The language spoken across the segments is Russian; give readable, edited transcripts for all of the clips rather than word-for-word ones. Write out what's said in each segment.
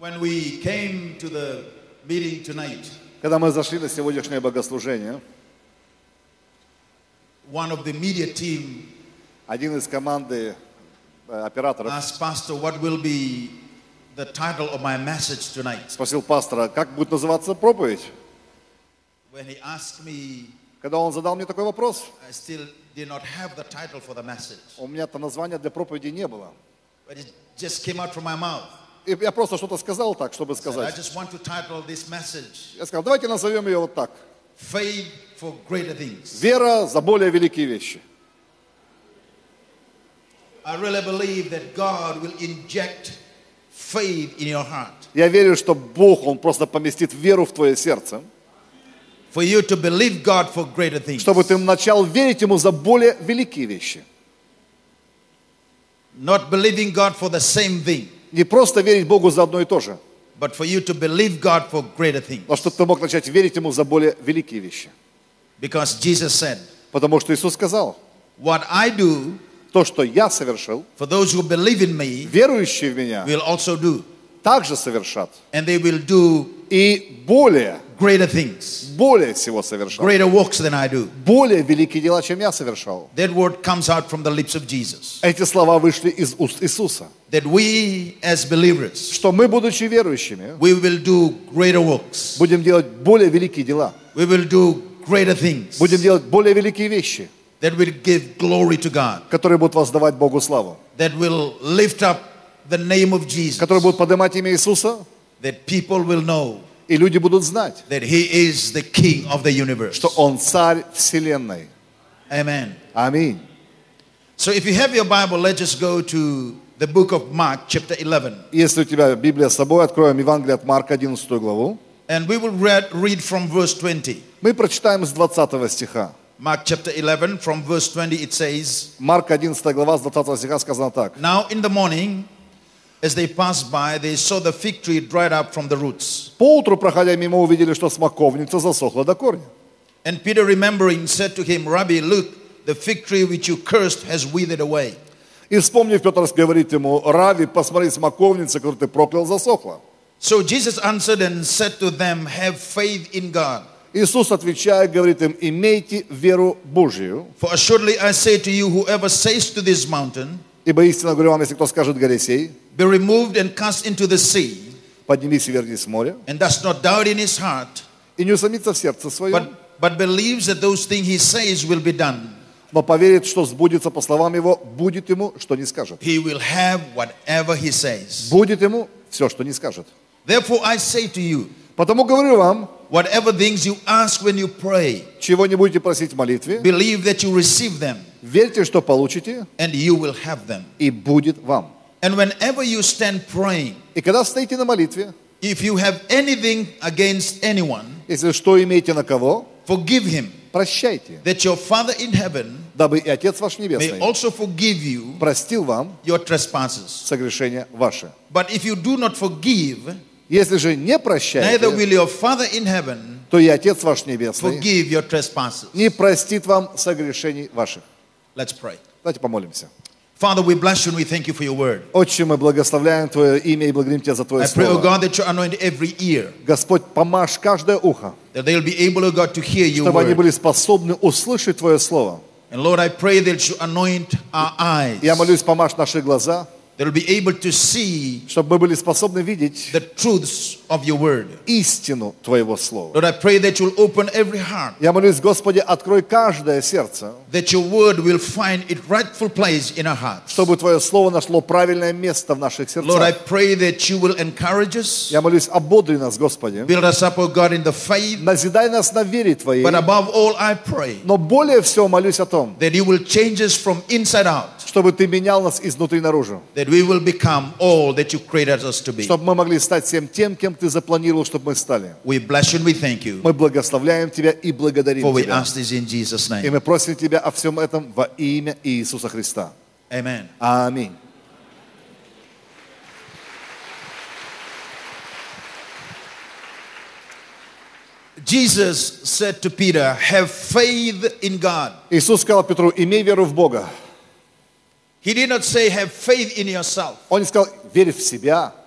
When we came to the meeting tonight, Когда мы зашли на сегодняшнее богослужение, one of the media team один из команды операторов asked Pastor what will be the title of my message tonight. спросил пастора, как будет называться проповедь. When he asked me, Когда он задал мне такой вопрос, I still did not have the title for the message, у меня-то названия для проповеди не было. but it just came out from my mouth. И я просто что-то сказал так, чтобы I сказать. just want to title this message Я сказал, давайте назовем ее вот так. Faith for Greater Things. Вера за более великие вещи. I really believe that God will inject faith in your heart Я верю, что Бог, Он просто поместит веру в твое сердце, for you to believe God for greater things. чтобы ты начал верить Ему за более великие вещи. Not believing God for the same thing, Не просто верить Богу за одно и то же, but for you to believe God for greater things. но чтобы ты мог начать верить Ему за более великие вещи. Because Jesus said, Потому что Иисус сказал, what I do, то, что я совершил, for those who believe in me, верующие в Меня will also do. также совершат. And they will do И более greater things, всего совершат. greater works than I do. Более великие дела, чем я совершал. That word comes out from the lips of Jesus. Эти слова вышли из уст Иисуса. That we as believers, Что мы, будучи верующими, we will do greater works. будем делать более великие дела. We will do greater things Будем делать более великие вещи, that will give glory to God. которые будут воздавать Богу славу. That will lift up the name of Jesus. Которые будут поднимать имя Иисуса, That people will know и люди будут знать, that He is the King of the universe. что Он царь вселенной. Amen. Аминь. So if you have your Bible, let's just go to the book of Mark, chapter 11. Если у тебя Библия с собой, откроем Евангелие от Марка, 11 главу. And we will read from verse 20. Мы прочитаем с 20 стиха. Mark chapter 11, from verse 20, it says, Марка 11 глава, с 20 стиха сказано так. Now in the morning, as they passed by, they saw the fig tree dried up from the roots. Поутру, проходя мимо, увидели, что смоковница засохла до корня. And Peter, remembering, said to him, Rabbi, look, the fig tree which you cursed has withered away. И вспомнив, Петр говорит ему, Рави, посмотри, смоковница, которую ты проклял, засохла. So Jesus answered and said to them, have faith in God. Иисус, отвечая, говорит им, имейте веру Божию. For assuredly I say to you, whoever says to this mountain, Ибо истинно говорю вам, если кто скажет горе сей, be removed and cast into the sea, поднимись и вернись в море, and does not doubt in his heart, и не усомнится в сердце своем, but believes that those things he says will be done, но поверит, что сбудется по словам его, будет ему, что не скажет. he will have whatever he says. Будет ему все, что не скажет. Therefore I say to you, Потому говорю вам, whatever things you ask when you pray, чего не будете просить в молитве, believe that you receive them, верьте, что получите, and you will have them. и будет вам. And whenever you stand praying, И когда стоите на молитве, if you have anything against anyone, если что имеете на кого, forgive him, прощайте, that your Father in heaven дабы и Отец ваш may Небесный also forgive you простил вам your trespasses. согрешения ваши. But if you do not forgive, Если же не neither прощаете, will your Father in heaven то и Отец ваш Небесный forgive your trespasses. не простит вам согрешений ваших. Let's pray. Давайте помолимся. Father, we bless you and we thank you for your word. Отче, мы благословляем Твое имя и благодарим Тебя за Твое I pray, oh Слово. God, that you anoint every ear, Господь, помажь каждое ухо, that they'll be able, oh God, to hear your чтобы они word. были способны услышать Твое Слово. And Lord, I pray that you anoint our eyes, Я молюсь, помажь наши глаза, that will be able to see чтобы мы были способны видеть the truths of your word. истину Твоего Слова. Lord, I pray that you'll open every heart, Я молюсь, Господи, открой каждое сердце, that your word will find its rightful place in our hearts. чтобы Твое Слово нашло правильное место в наших Lord, I сердцах. pray that you will encourage us, Я молюсь, ободри нас, Господи, build us up, oh God, in the faith. назидай нас на вере Твоей, But above all, I pray но более всего молюсь о том, that you will change us from inside out, чтобы Ты менял нас изнутри наружу, that we will become all that you created us to be. чтобы мы могли стать всем тем, кем Ты запланировал, чтобы мы стали. We bless you and we thank you, Мы благословляем Тебя и благодарим for we Тебя. ask this in Jesus' И name. мы просим Тебя о всем этом во имя Иисуса Христа. Amen. Аминь. Jesus said to Peter, have faith in God. Иисус сказал Петру, имей веру в Бога. He did not say have faith in yourself. Он не сказал, верь в себя.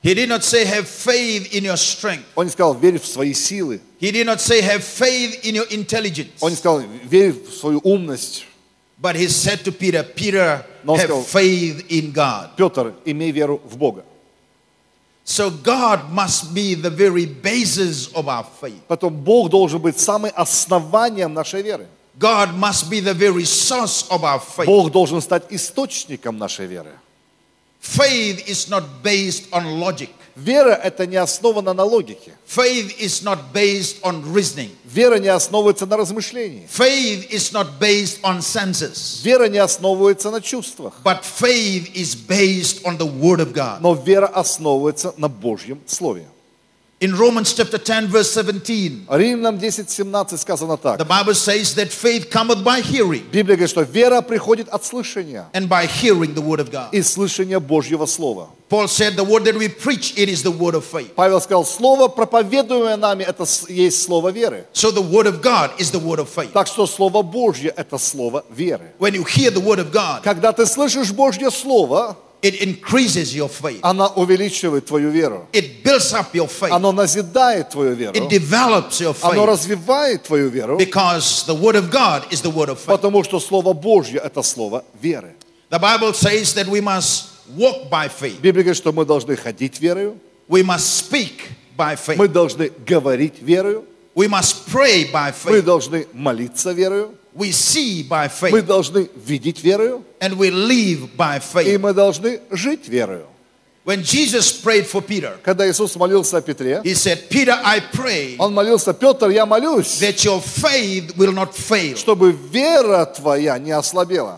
He did not say have faith in your strength. Он не сказал, верь в свои силы. He did not say have faith in your intelligence. Он не сказал, верь в свою умность. But he said to Peter, Peter, Но он have сказал, faith in God. Петр, имей веру в Бога. So God must be the very basis of our faith. Потом Бог должен быть самым основанием нашей веры. God must be the very source of our faith. Бог должен стать источником нашей веры. Faith is not based on logic. Вера – это не основана на логике. Faith is not based on reasoning. Вера не основывается на размышлении. Faith is not based on senses. Вера не основывается на чувствах. But faith is based on the Word of God. Но вера основывается на Божьем Слове. In Romans chapter 10, verse 17, Римлянам 10:17 сказано так. the Bible says that faith cometh by hearing, Библия говорит, что вера приходит от слышания and by hearing the Word of God. и слышания Божьего Слова. Paul said the word that we preach, it is the word of faith. Павел сказал, Слово, проповедуемое нами, это есть Слово веры. So the Word of God is the word of faith. Так что Слово Божье – это Слово веры. When you hear the Word of God, Когда ты слышишь Божье Слово, it increases your faith. оно увеличивает твою веру. It builds up your faith. Оно назидает твою веру. It develops your Оно faith. развивает твою веру, Because the Word of God is the word of faith. потому что Слово Божье – это Слово веры. The Bible says that we must walk by faith. Библия говорит, что мы должны ходить верою, We must speak by faith. мы должны говорить верою, We must pray by мы faith. должны молиться верою, We see by мы faith. должны видеть верою, And we live by и faith. мы должны жить верою. When Jesus prayed for Peter, Когда Иисус молился о Петре, he said, Peter, I pray Он молился, Петр, я молюсь, that your faith will not fail. чтобы вера твоя не ослабела.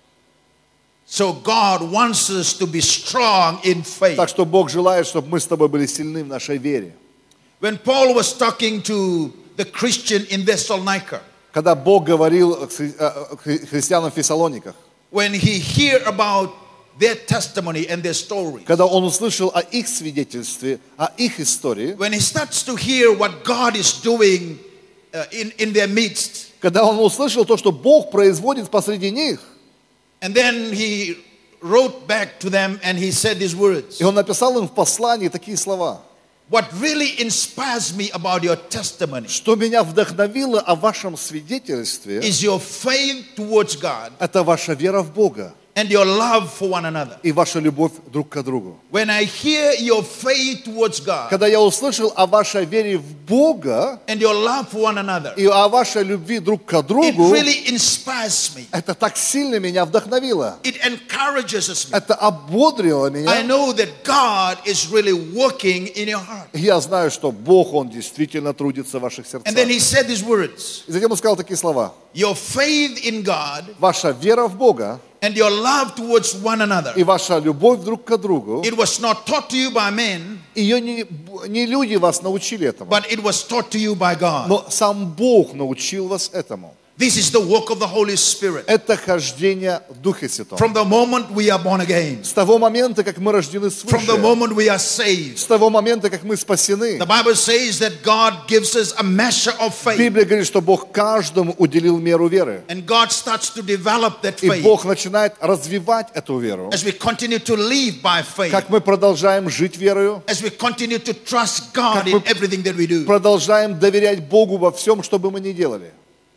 So God wants us to be strong in faith. Так что Бог желает, чтобы мы с тобой были сильны в нашей вере. When Paul was talking to the Christian in Thessalonica, Когда Бог говорил к христианам в Фессалониках, when he heard about their testimony and their story, когда он услышал о их свидетельстве, о их истории, when he starts to hear what God is doing in their midst, когда он услышал то, что Бог производит посреди них, and then he wrote back to them and he said these words. и он написал им в послании такие слова. What really inspires me about your testimony Что меня вдохновило о вашем свидетельстве, is your faith towards God это ваша вера в Бога and your love for one another. и ваша любовь друг к другу. When I hear your faith towards God Когда я услышал о вашей вере в Бога and your love for one another, и о вашей любви друг к it другу, really inspires me. это так сильно меня вдохновило. It encourages me. Это ободрило I меня. know that God is really working in your heart. Я знаю, что Бог, Он действительно трудится в ваших сердцах. And then he said these words. И затем он сказал такие слова. Your faith in God Ваша вера в Бога and your love towards one another, и ваша любовь друг к другу, it was not taught to you by men, ее не люди вас научили этому, but it was taught to you by God. но сам Бог научил вас этому. This is the work of the Holy Spirit. Это хождение в Духе Святом. From the moment we are born again, С того момента, как мы рождены from the свыше, moment we are saved, с того момента, как мы спасены, the Bible says that God gives us a measure of faith. Библия говорит, что Бог каждому уделил меру веры. And God starts to develop that И faith Бог начинает развивать эту веру. as we continue to live by faith, Как мы продолжаем жить верою, as we continue to trust God Как in мы everything that we do. продолжаем доверять Богу во всем, что бы мы ни делали.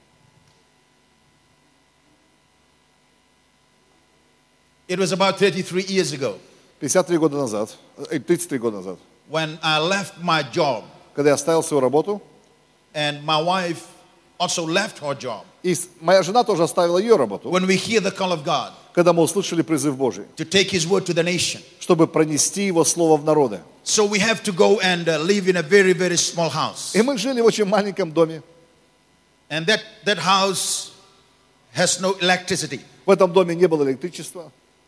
It was about 33 years ago 33 года назад, 33 года назад, when I left my job когда я оставил свою работу, and my wife also left her job. и моя жена тоже оставила ее работу, When we hear the call of God когда мы услышали призыв Божий, to take His word to the nation, чтобы пронести Его Слово в народы. so we have to go and live in a very, very small house. И мы жили в очень маленьком доме. And that house has no electricity. В этом доме не было электричества,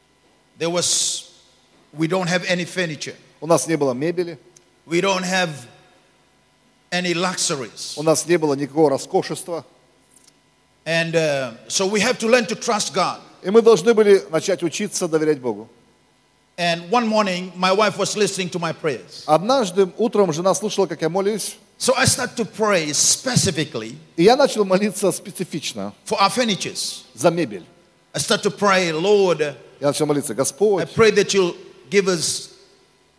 We don't have any furniture. у нас не было мебели, We don't have any luxuries. у нас не было никакого роскошества. And so we have to learn to trust God. И мы должны были начать учиться доверять Богу. And one morning, my wife was listening to my prayers. Однажды утром жена слушала, как я молюсь, So I started to pray specifically и я начал молиться специфично for our furnitures. за мебель. I started to pray, Lord, Я начал молиться, I Господь, pray that you'll give us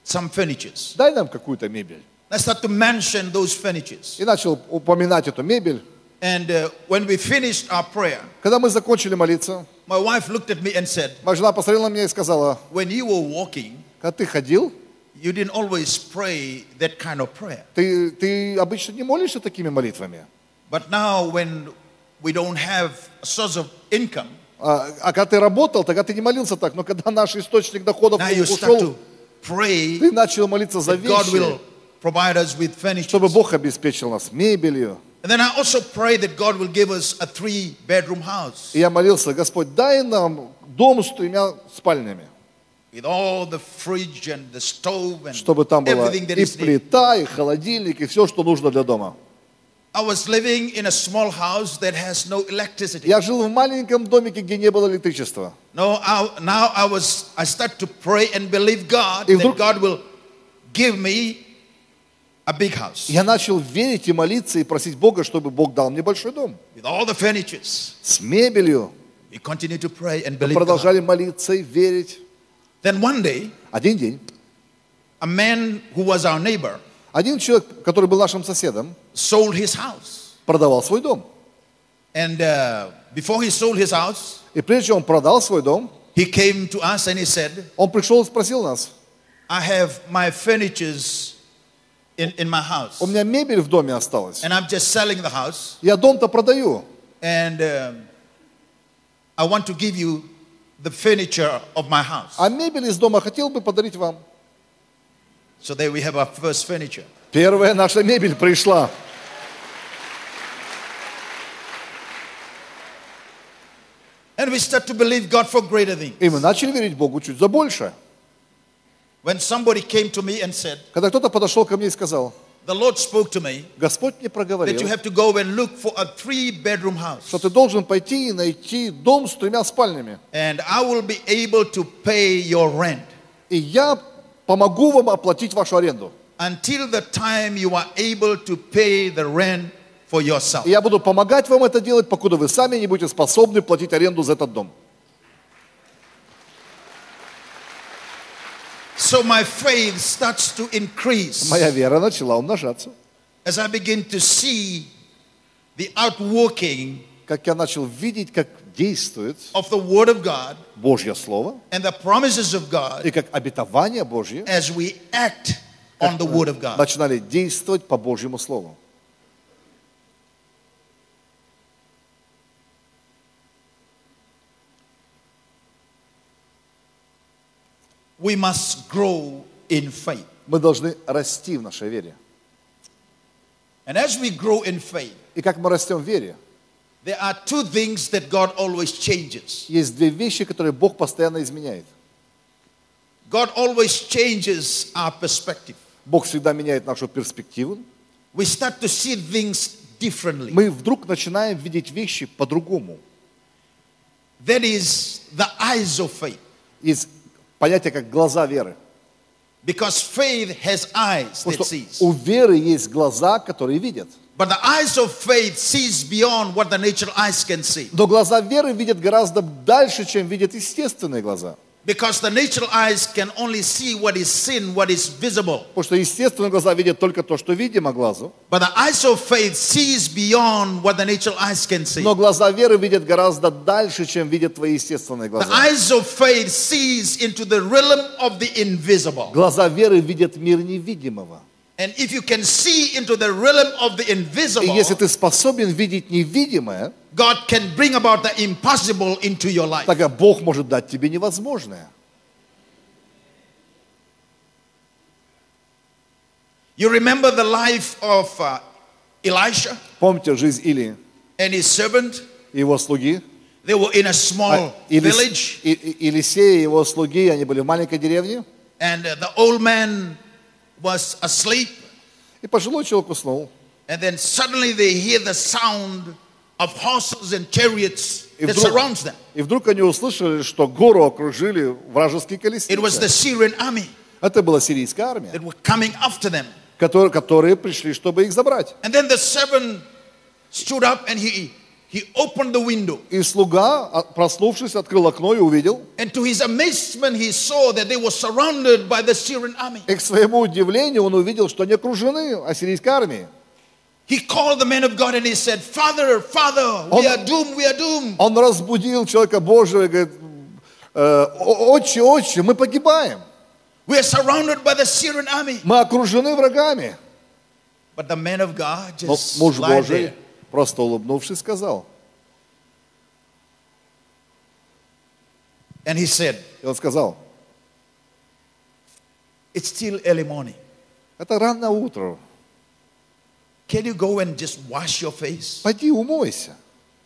some furnitures. дай нам какую-то мебель. I started to mention those furnitures. И начал упоминать эту мебель. And when we finished our prayer, Когда мы закончили молиться, my wife looked at me and said, моя жена посмотрела на меня и сказала, when you were walking, когда ты ходил, you didn't always pray that kind of prayer. ты обычно не молишься такими молитвами. But now when we don't have a source of income, А когда ты работал, тогда ты не молился так. Но когда наш источник доходов now you start ушел, to pray ты начал молиться за that God will вещи, provide us with furniture. чтобы Бог обеспечил нас мебелью. And then I also pray that God will give us a 3-bedroom house И я молился, Господь, дай нам дом с 3 спальнями, with all the fridge and the stove and чтобы там была everything that и is needed. плита, и холодильник, и все, что нужно для дома. I was living in a small house that has no electricity. Я жил в маленьком домике, где не было электричества. Now I start to pray and believe God И that вдруг- God will give me a big house Я начал верить и молиться, и просить Бога, чтобы Бог дал мне большой дом. with all the furnitures. С мебелью. We continue to pray and Мы believe God. продолжали молиться и верить. Then one day, Один день. a man who was our neighbor Один человек, который был нашим соседом, sold his house. продавал свой дом. And before he sold his house, И прежде чем он продал свой дом, he came to us and he said, он пришел и спросил нас, I have my furnitures in my house. у меня мебель в доме осталась. And I'm just selling the house. Я дом-то продаю. And I want to give you the furniture of my house. А мебель из дома хотел бы подарить вам. So there we have our first furniture. Первая наша мебель пришла. And we start to believe God for greater things. И мы начали верить Богу чуть за больше. When somebody came to me and said, Когда кто-то подошел ко мне и сказал, the Lord spoke to me Господь мне that проговорил, you have to go and look for a 3-bedroom house. что ты должен пойти и найти дом с 3 спальнями. And I will be able to pay your rent И я помогу вам оплатить вашу аренду. until the time you are able to pay the rent for yourself. И я буду помогать вам это делать, покуда вы сами не будете способны платить аренду за этот дом. So my faith starts to increase Моя вера начала умножаться. as I begin to see the outworking Как я начал видеть, как действует of the Word of God Божье Слово and the promises of God и как обетование Божье as we act on the Word of God. начинали действовать по Божьему Слову. We must grow in faith. Мы должны расти в нашей вере. And as we grow in faith, И как мы растем в вере, there are 2 things that God always changes. есть 2 вещи, которые Бог постоянно изменяет. God always changes our perspective. Бог всегда меняет нашу перспективу. We start to see things differently. Мы вдруг начинаем видеть вещи по-другому. That is the eyes of faith. Есть понятие как глаза веры. Because faith has eyes Потому that что sees. у веры есть глаза, которые видят. But the eyes of faith sees beyond what the natural eyes can see. Но глаза веры видят гораздо дальше, чем видят естественные глаза. Because the natural eyes can only see what is seen, what is visible. Потому что естественные глаза видят только то, что видимо глазу. But the eyes of faith sees beyond what the natural eyes can see. Но глаза веры видят гораздо дальше, чем видят твои естественные The глаза. eyes of faith sees into the realm of the invisible. Глаза веры видят мир невидимого. And if you can see into the realm of the И invisible, если ты способен видеть невидимое, God can bring about the impossible into your life. тогда Бог может дать тебе невозможное. You remember the life of Elisha Помните жизнь Илии and his servant? и его слуги? They were in a small village, Елисей и его слуги, они были в маленькой деревне. and the old man was asleep. И пожилой человек уснул. And then suddenly they hear the sound of horses and chariots И that вдруг, surrounds them. и вдруг они услышали, что гору окружили вражеские It was the колесницы. Syrian army Это была сирийская армия, that were coming after them. которые пришли, чтобы их забрать. And then the servant stood up and he he opened the window. И слуга, проснувшись, открыл окно и увидел. And to his amazement, he saw that they were surrounded by the Syrian army. И к своему удивлению он увидел, что они окружены ассирийской армией. He called the man of God and he said, Father, Father, we are doomed, we are doomed. Он разбудил человека Божьего и говорит: отче, отче, мы погибаем. We are surrounded by the Syrian army. Мы окружены врагами. But the man of God Но just муж lied Божий, there. просто улыбнувшись, сказал. And he said, И он сказал: it's still early morning. это рано утро. Can you go and just wash your face? Пойди умойся.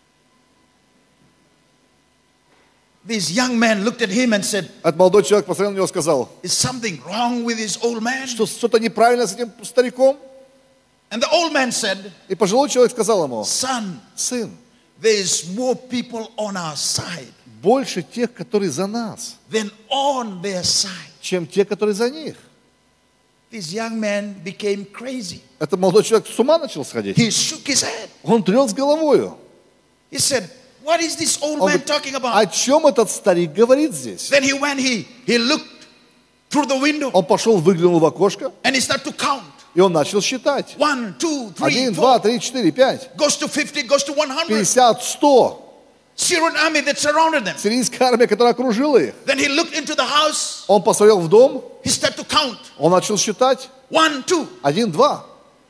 This young man looked at him and said, Этот молодой человек посмотрел на него и сказал: is something wrong with this old man? что-то неправильно с этим стариком. And the old man said, И пожилой человек сказал ему: son, сын, there is more people on our side больше тех, которые за нас, than on their side. чем те, которые за них. This young man became crazy. Этот молодой человек с ума начал сходить. He shook his head. Он тряс головою. He said, what is this old Он man говорит: talking о about? чем этот старик говорит здесь? Then he went, he looked through the window Он пошел, выглянул в окошко, and he started to count. и он начал считать. 1, 2, 3, 1, 4. 2, 3, 4, 5, Goes to 50, goes to 100. 50, 100. Syrian army that surrounded them. Сирийская армия, которая окружила их. Then he looked into the house. Он посмотрел в дом, He started to count. он начал считать. 1, 2. 1, 2.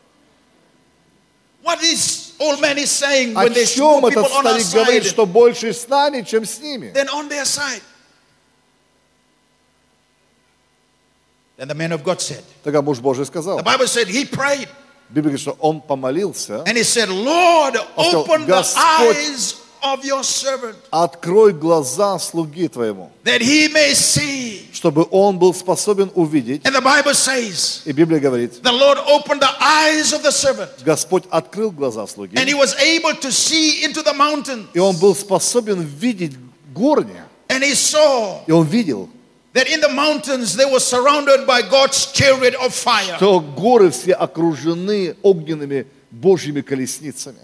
What this old man is saying О when there's чем more этот people on our старик говорит, side что больше с нами, чем с ними? than on their side? Then the man of God said, Тогда муж Божий сказал. the Bible said he prayed Библия говорит, что он помолился. and he said, Lord, сказал: open the Господь, eyes of your servant открой глаза слуги твоему, that he may see. чтобы он был способен увидеть. And the Bible says, И Библия говорит, the Lord opened the eyes of the servant Господь открыл глаза слуги, and he was able to see into the mountain. и он был способен видеть горни. And he saw И он видел, that in the mountains they were surrounded by God's chariot of fire. что горы все окружены огненными Божьими колесницами.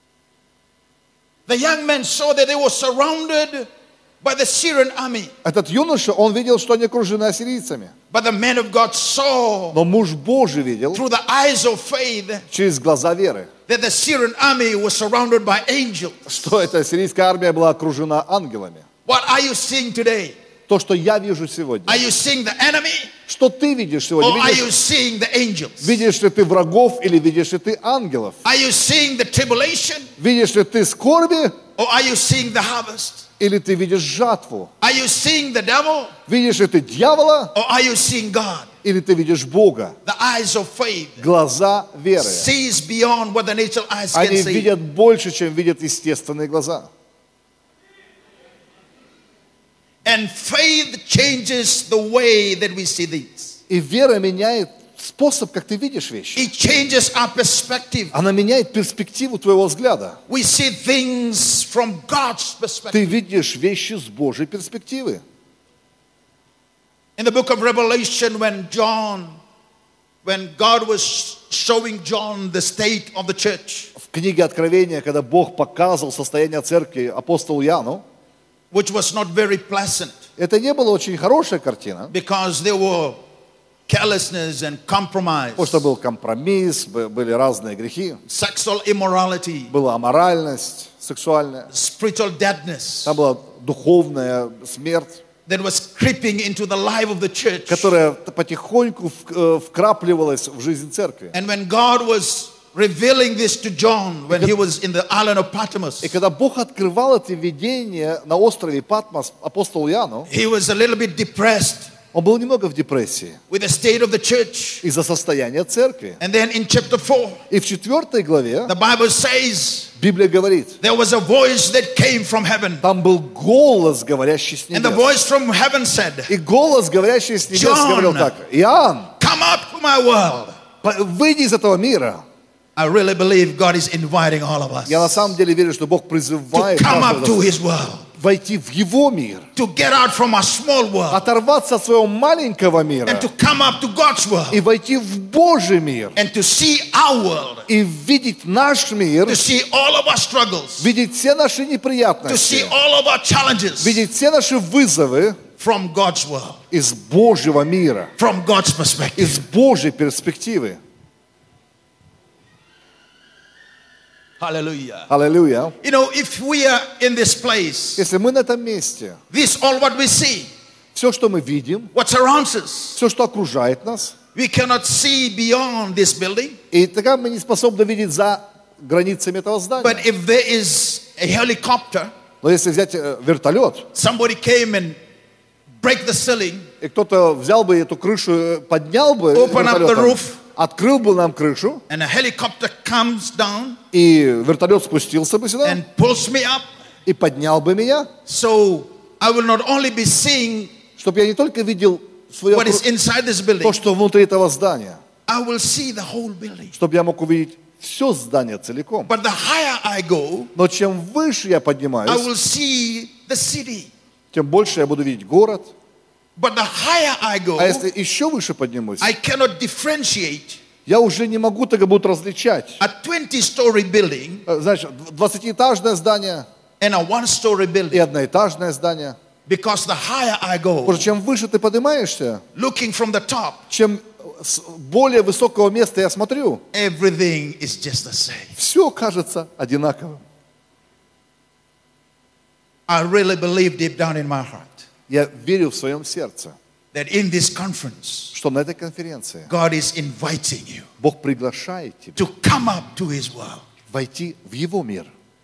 The young man saw that they were surrounded by the Syrian army. Этот юноша, он видел, что они окружены ассирийцами. But the man of God saw Но муж Божий видел through the eyes of faith через глаза веры, that the Syrian army was surrounded by angels. что эта ассирийская армия была окружена ангелами. What are you seeing today? То, что я вижу сегодня. Are you seeing the enemy Что ты видишь сегодня? or are you seeing the angels? Видишь ли ты врагов или видишь ли ты ангелов? Are you seeing the tribulation Видишь ли ты скорби or are you seeing the harvest? или ты видишь жатву? Are you seeing the devil Видишь ли ты дьявола or are you seeing God? или ты видишь Бога? The eyes of faith Глаза веры. sees beyond what the natural eyes can Они see. видят больше, чем видят естественные глаза. And faith changes the way that we see things. И вера меняет способ, как ты видишь вещи. It changes our perspective. Она меняет перспективу твоего взгляда. We see things from God's perspective. Ты видишь вещи с Божьей перспективы. In the book of Revelation, when God was showing John the state of the church, В книге Откровения, когда Бог показывал состояние церкви апостолу Иоанну, which was not very pleasant это не была очень хорошая картина, because there were carelessness and compromise, потому что был компромисс, были разные грехи, sexual immorality, была аморальность сексуальная, spiritual deadness там была духовная смерть, that was creeping into the life of the church. которая потихоньку вкрапливалась в жизнь церкви. And when God was revealing this to John when he was in the island of Patmos, И когда Бог открывал это видение на острове Патмос апостолу Иоанну, he was a little bit depressed он был немного в депрессии with the state of the church. из-за состояния церкви. And then in chapter 4, И в 4 главе the Bible says Библия говорит, there was a voice that came from heaven. там был голос, говорящий с And the небес. voice from heaven said, И голос, говорящий с небес, John, говорил так: Иоанн, come up to my world. выйди из этого мира. I really believe God is inviting all of us Я на самом деле верю, что Бог to призывает come каждого up to из his world. нас войти в Его мир, to get out from our small world оторваться от своего маленького мира and to come up to God's world и войти в Божий мир, and to see our world, и видеть наш мир, to see all of our struggles, видеть все наши to see неприятности, all of our challenges видеть все наши вызовы from God's world, из Божьего мира, from God's perspective. из Божьей перспективы. Hallelujah. Аллилуйя. You know, if we are in this place, Если мы на этом месте, this all what we see, все, что мы видим, what surrounds us, все, что окружает нас, we cannot see beyond this building. и тогда мы не способны видеть за границами этого здания. But if there is a helicopter, Но если взять вертолет, somebody came and break the ceiling, и кто-то взял бы эту крышу, поднял бы Open up the вертолетом, roof. открыл бы нам крышу, and a helicopter comes down и вертолет спустился бы сюда, and pulls me up, и поднял бы меня, so I will not only be seeing чтобы я не только видел свое, what is inside this building, то, что внутри этого здания, I will see the whole building. чтобы я мог увидеть все здание целиком. But the higher I go, Но чем выше я I поднимаюсь, will see the city. тем больше я буду видеть город. But the higher I go, А если еще выше поднимусь, I cannot differentiate я уже не могу тогда будут различать. a 20-story building Значит, 20-этажное здание and a 1-story и building. одноэтажное здание. Because the higher I Потому go, что чем выше ты поднимаешься, looking from the top, чем с более высокого места я смотрю, everything is just the same. все кажется одинаковым. I really believe deep down in my heart Я верю в своем сердце, that in this conference, что на этой конференции God is inviting you Бог приглашает тебя to come up to His world. войти в Его мир.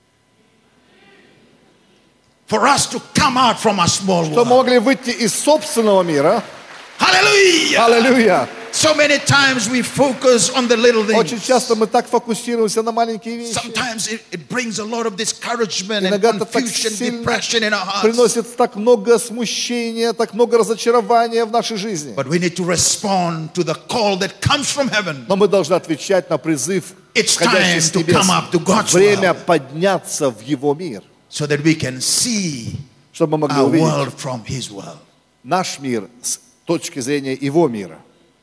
For us to come out from our small Что мы world. могли выйти из собственного мира. Hallelujah! Аллилуйя! So many times we focus on the little Очень things. часто мы так фокусируемся на маленькие вещи. Sometimes it brings a lot of discouragement and Иногда это так confusion, сильно depression in our hearts. приносит так много смущения, так много разочарования в нашей жизни. But we need to respond to the call that comes from heaven. Но мы должны отвечать на призыв, It's входящий time с to небес. come up to God's Время world подняться в Его мир, so that we can see чтобы мы могли our увидеть world from His world. наш мир с точки зрения Его мира.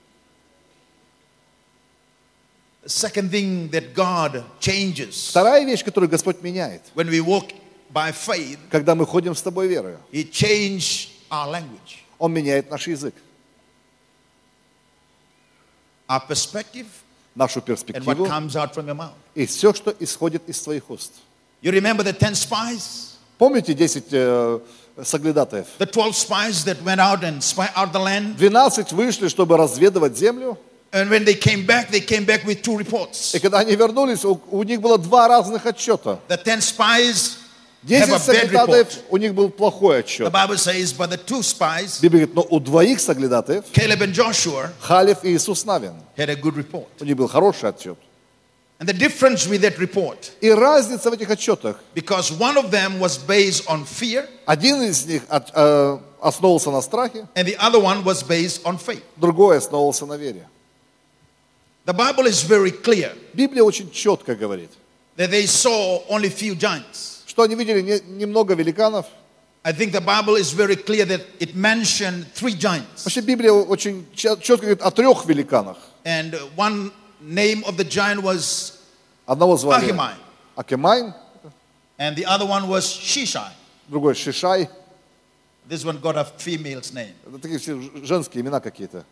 The second thing that God changes Вторая вещь, которую Господь меняет, when we walk by faith, когда мы ходим с Тобой верою, He changed our language, Он меняет наш язык, our perspective, нашу and what перспективу comes out from your mouth. и все, что исходит из Твоих уст. You remember the 10 spies? Помните 10 соглядатаев? The 12 spies that went out and spy out the land? 12 вышли, чтобы разведывать землю, And when they came back with 2 reports. и когда они вернулись, у них было 2 разных отчета. The 10 spies have 10 a bad соглядатаев, report. у них был плохой The отчет. Bible says, but the 2 spies, Библия говорит, но у 2 соглядатаев, Caleb and Joshua, Халев и Иисус Навин, had a good report. у них был хороший отчет. And the difference with that report, И разница в этих отчетах, because one of them was based on fear, один из них основывался на страхе, and the other one was based on faith. другой основывался на вере. The Bible is very clear Библия очень четко говорит, that they saw only few giants. что они видели немного великанов. I think the Bible is very clear that it mentioned 3 giants. Вообще Библия очень четко говорит о 3 великанах. And one name of the giant was Одного звали Ахимай, Акимай, and the other one was Shishai. другой Шишай. This one got a female's name. Это такие все женские имена какие-то.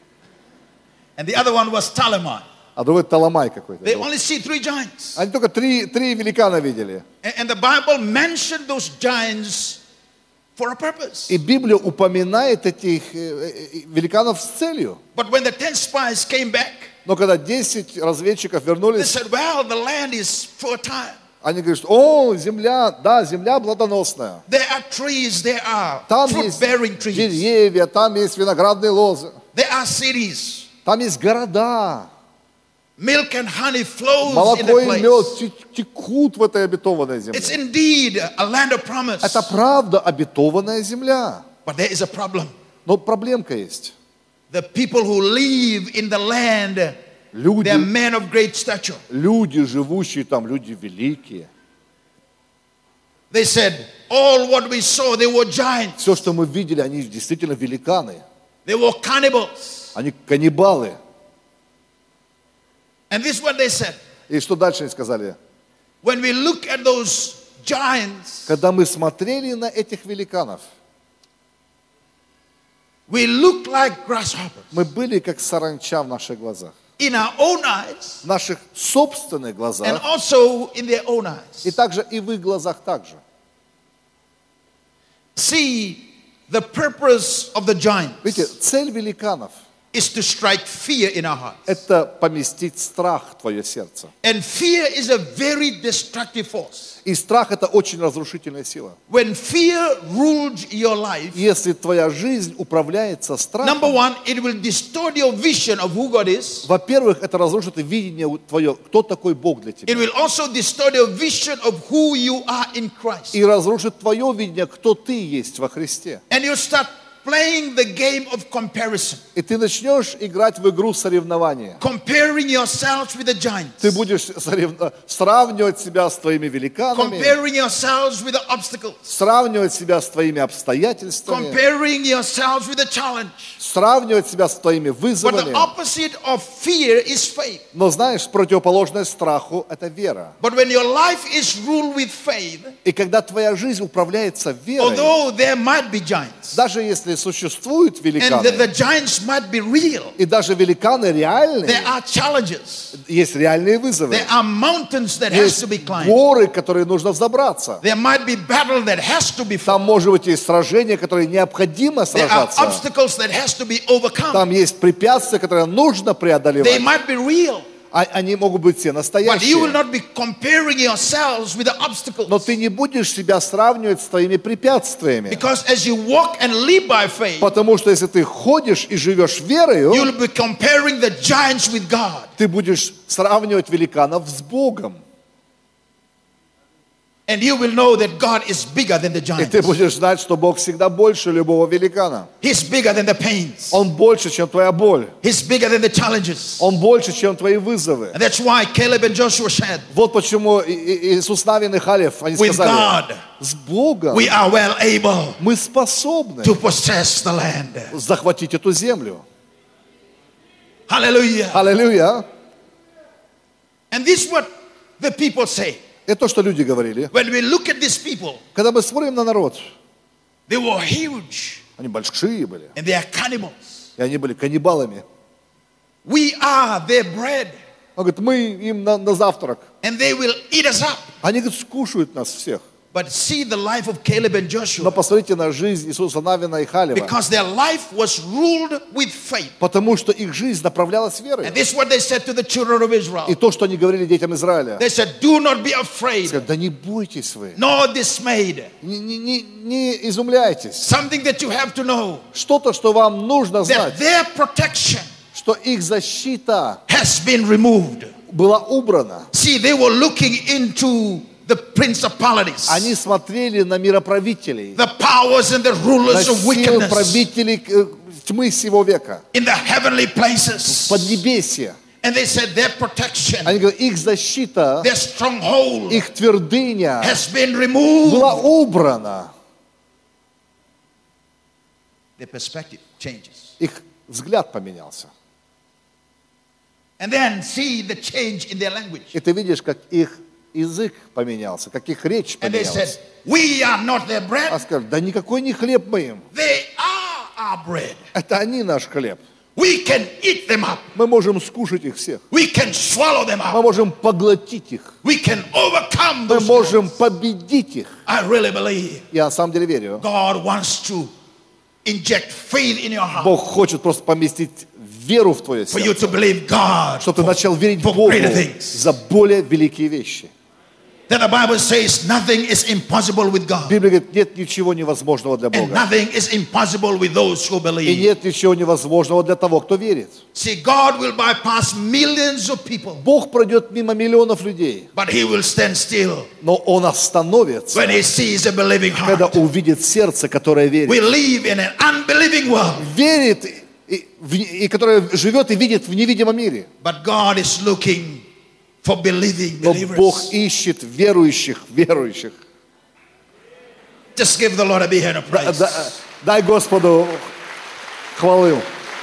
And the other one was Talamai. А другой Таламай какой-то. They only see 3 giants. Они только 3 великана видели. And the Bible mentioned those giants for a purpose. И Библия упоминает этих великанов с целью. But when the 10 spies came back, Но когда 10 разведчиков they вернулись, said, well, the land is fertile. они говорят, о, земля, да, земля плодоносная. There are trees, there are Там есть fruit-bearing trees. деревья, там есть виноградные лозы, There are cities. там есть города. Milk and honey flows in Молоко the и place. мед текут в этой обетованной It's земле. indeed a land of promise. Это правда обетованная земля. But there is a problem. Но проблемка есть. The people who live in the land, they Люди, are men of great stature. люди, живущие там, люди великие. They said, All what we saw, they were giants. Все, что мы видели, они действительно великаны. They were cannibals. Они каннибалы. And this is what they said. И что дальше они сказали? When we look at those giants, Когда мы смотрели на этих великанов, we look like grasshoppers. мы были как саранча в наших глазах. In our own eyes В наших собственных and глазах, also in their own eyes. и также и в их глазах также. See, the purpose of the Видите, giants цель великанов is to strike fear in our hearts. – это поместить страх в твое сердце. And fear is a very destructive force. И страх – это очень разрушительная сила. When fear rules your life, Если твоя жизнь управляется number страхом, one, it will distort your vision of who God is. во-первых, это разрушит видение твое, кто такой Бог для It тебя. will also distort your vision of who you are in Christ. И разрушит твое видение, кто ты есть во Христе. And you'll start playing the game of comparison. И ты начнешь играть в игру соревнования. Comparing yourselves with the Ты giants. будешь сравнивать себя с твоими великанами, Comparing yourselves with the obstacles. сравнивать себя с твоими обстоятельствами, Comparing yourselves with the challenge. сравнивать себя с твоими But the вызовами. opposite of fear is faith. Но знаешь, противоположное страху – это вера. But when your life is ruled with faith, И когда твоя жизнь управляется верой, although there might be giants, даже если существуют and великаны, the giants might be real, и даже великаны реальные, there are challenges. есть реальные вызовы. There are mountains that has Есть to be climbed. горы, которые нужно взобраться. There might be battle that has to be Там, fought. может быть, есть сражения, которые необходимо There are сражаться. obstacles that has to be overcome. Там есть препятствия, которые нужно They преодолевать. might be real, Они могут быть все but you will настоящие. not be comparing yourselves with the obstacles. Но ты не будешь себя сравнивать с твоими препятствиями. Because as you walk and live by faith, Потому что если ты ходишь и живешь верою, you'll be comparing the giants with God. ты будешь сравнивать великанов с Богом. And you will know that God is bigger than the И giants. ты будешь знать, что Бог всегда больше любого великана. He's bigger than the pains. Он больше, чем твоя боль. He's bigger than the challenges. Он больше, чем твои вызовы. And that's why Caleb and Joshua said, Вот почему Иисус Навин и Халев, они with сказали, God, с Богом we are well able мы способны to possess the land. захватить эту землю. Hallelujah. Аллилуйя. And this is what the people say. Это то, что люди говорили. When we look at these people, Когда мы смотрим на народ, they were huge они большие были, and they are cannibals. и они были каннибалами. We are their bread Он говорит, мы им на завтрак. and they will eat us up. Они, говорит, скушают нас всех. But see the life of Caleb and Но Joshua, посмотрите на жизнь Иисуса Навина и Халева. because their life was ruled with faith. Потому что их жизнь направлялась верой. And this is what they said to the children of Israel. И то, что они говорили детям Израиля. They said, do not be afraid, Сказали, да не бойтесь вы. nor dismayed. Не изумляйтесь. Something that you have to know, Что-то, что вам нужно that знать, their protection что их защита has been removed. была убрана. See, they were looking into the principalities, Они смотрели на мироправителей, the powers and the на rulers of сил wickedness правителей тьмы сего века, in the heavenly places. поднебесья. And they said their protection, Они говорят, их защита, their stronghold их твердыня has been removed. была убрана. Their perspective changes. Их взгляд поменялся. And then see the change in their language. И ты видишь, как их язык поменялся, как их речь And they said, поменялась. we are not their А bread, сказали, да никакой не хлеб мы им. they are our bread. Это они наш хлеб. We can eat them up. Мы можем скушать их всех. We can swallow them Мы up. можем поглотить их. We can overcome Мы those. можем победить их. I really believe Я на самом деле верю. God wants to inject faith in your heart Бог хочет просто поместить веру в твое for you сердце. to believe God Чтобы ты начал верить for Богу greater things. за более великие вещи. That the Bible says nothing is impossible with God. Библия говорит, нет ничего невозможного для And Бога. nothing is impossible with those who И believe. нет ничего невозможного для того, кто верит. See, God will bypass millions of people, Бог пройдет мимо миллионов людей, but He will stand still но Он остановится, when He sees a believing когда heart. увидит сердце, которое верит. We live in an unbelieving world, Верит, и которое живет и видит в невидимом мире. but God is looking for believing Но Бог believers. ищет верующих. Just give the Lord a big hand of praise. Дай Господу хвалу.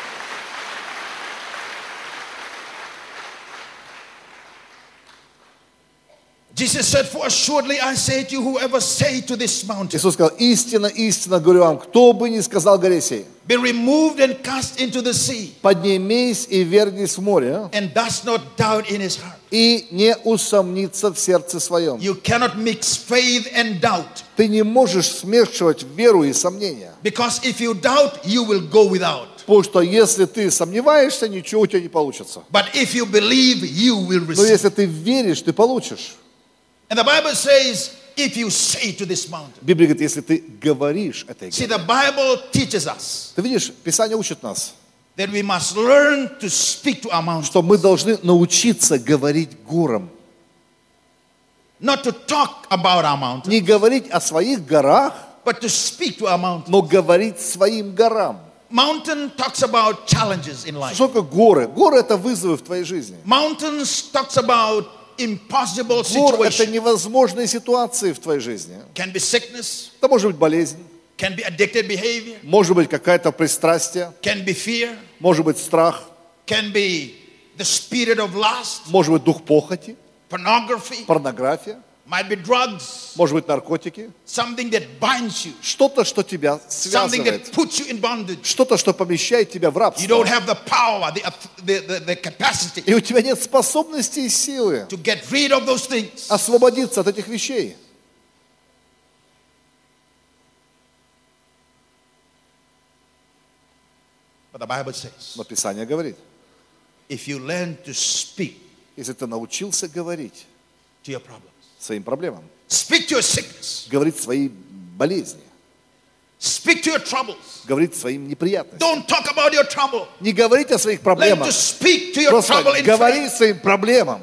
Jesus said, for assuredly I say to you, whoever say to this mountain, Иисус сказал, истинно, истинно говорю вам, кто бы ни сказал горе сей, be removed and cast into the sea, поднимись и вернись в море, and does not doubt in his heart. и не усомнится в сердце своем. You cannot mix faith and doubt. Ты не можешь смешивать веру и сомнения. Because if you doubt, you will go without. Потому что если ты сомневаешься, ничего у тебя не получится. But if you believe, you will Но receive. если ты веришь, ты получишь. And the Bible says, if you say to this mountain. Библия говорит, если ты говоришь этой See, горе. the Bible teaches us Ты видишь, Писание учит нас, that we must learn to speak to our mountain. что мы должны научиться говорить горам. Not to talk about our mountain, Не говорить о своих горах, but to speak to our mountain. но говорить своим горам. Mountain talks about challenges in life. Что такое горы? Горы – это вызовы в твоей жизни. Mountains talks about impossible Гор – это situations. невозможные ситуации в твоей жизни. Can be sickness, Это может быть болезнь, can be addicted behavior, может быть какое-то пристрастие, can be fear, может быть страх, can be the spirit of lust, может быть дух похоти, pornography, порнография, might be drugs, может быть наркотики. something that binds you, Что-то, что тебя something связывает. that puts you in bondage. Что-то, что помещает тебя в You рабство. don't have the power, the capacity И у тебя нет способности и силы to get rid of those things. освободиться от этих вещей. But the Bible says, Но Писание говорит, if you learn to speak если ты научился говорить to your problems, своим проблемам, speak to your sickness, говорить свои болезни, speak to your troubles. говорить своим неприятностям. Don't talk about your trouble. Не говорить о своих Learn проблемах, to speak to your просто trouble in говори faith. своим проблемам,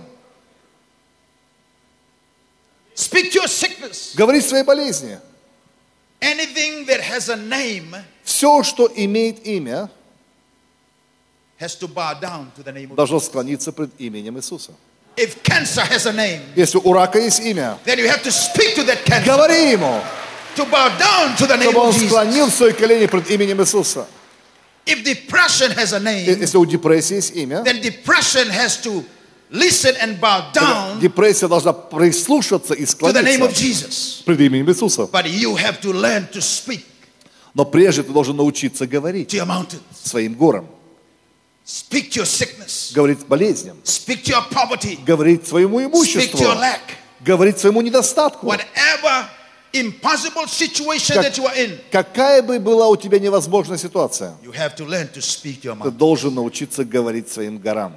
Speak to your sickness. говори свои болезни. Anything that has a name Все, что имеет имя, has to bow down to the name of должно склониться пред именем Иисуса. If cancer has a name, Если у рака есть имя, then you have to speak to that cancer говори ему, to bow down to the name чтобы он of Jesus. склонил свои колени пред именем Иисуса. If depression has a name, Если у депрессии есть имя, then depression has to listen and bow down депрессия должна прислушаться и to the name of склониться Jesus. пред именем Иисуса. But you have to learn to speak Но прежде ты должен научиться говорить to your mountains, своим горам, speak to your sickness, говорить болезням, speak to your poverty, говорить своему speak имуществу, to your lack. говорить своему недостатку. Whatever impossible situation that you are in, Какая бы была у тебя невозможная ситуация, you have to learn to speak to your ты mountain. должен научиться говорить своим горам.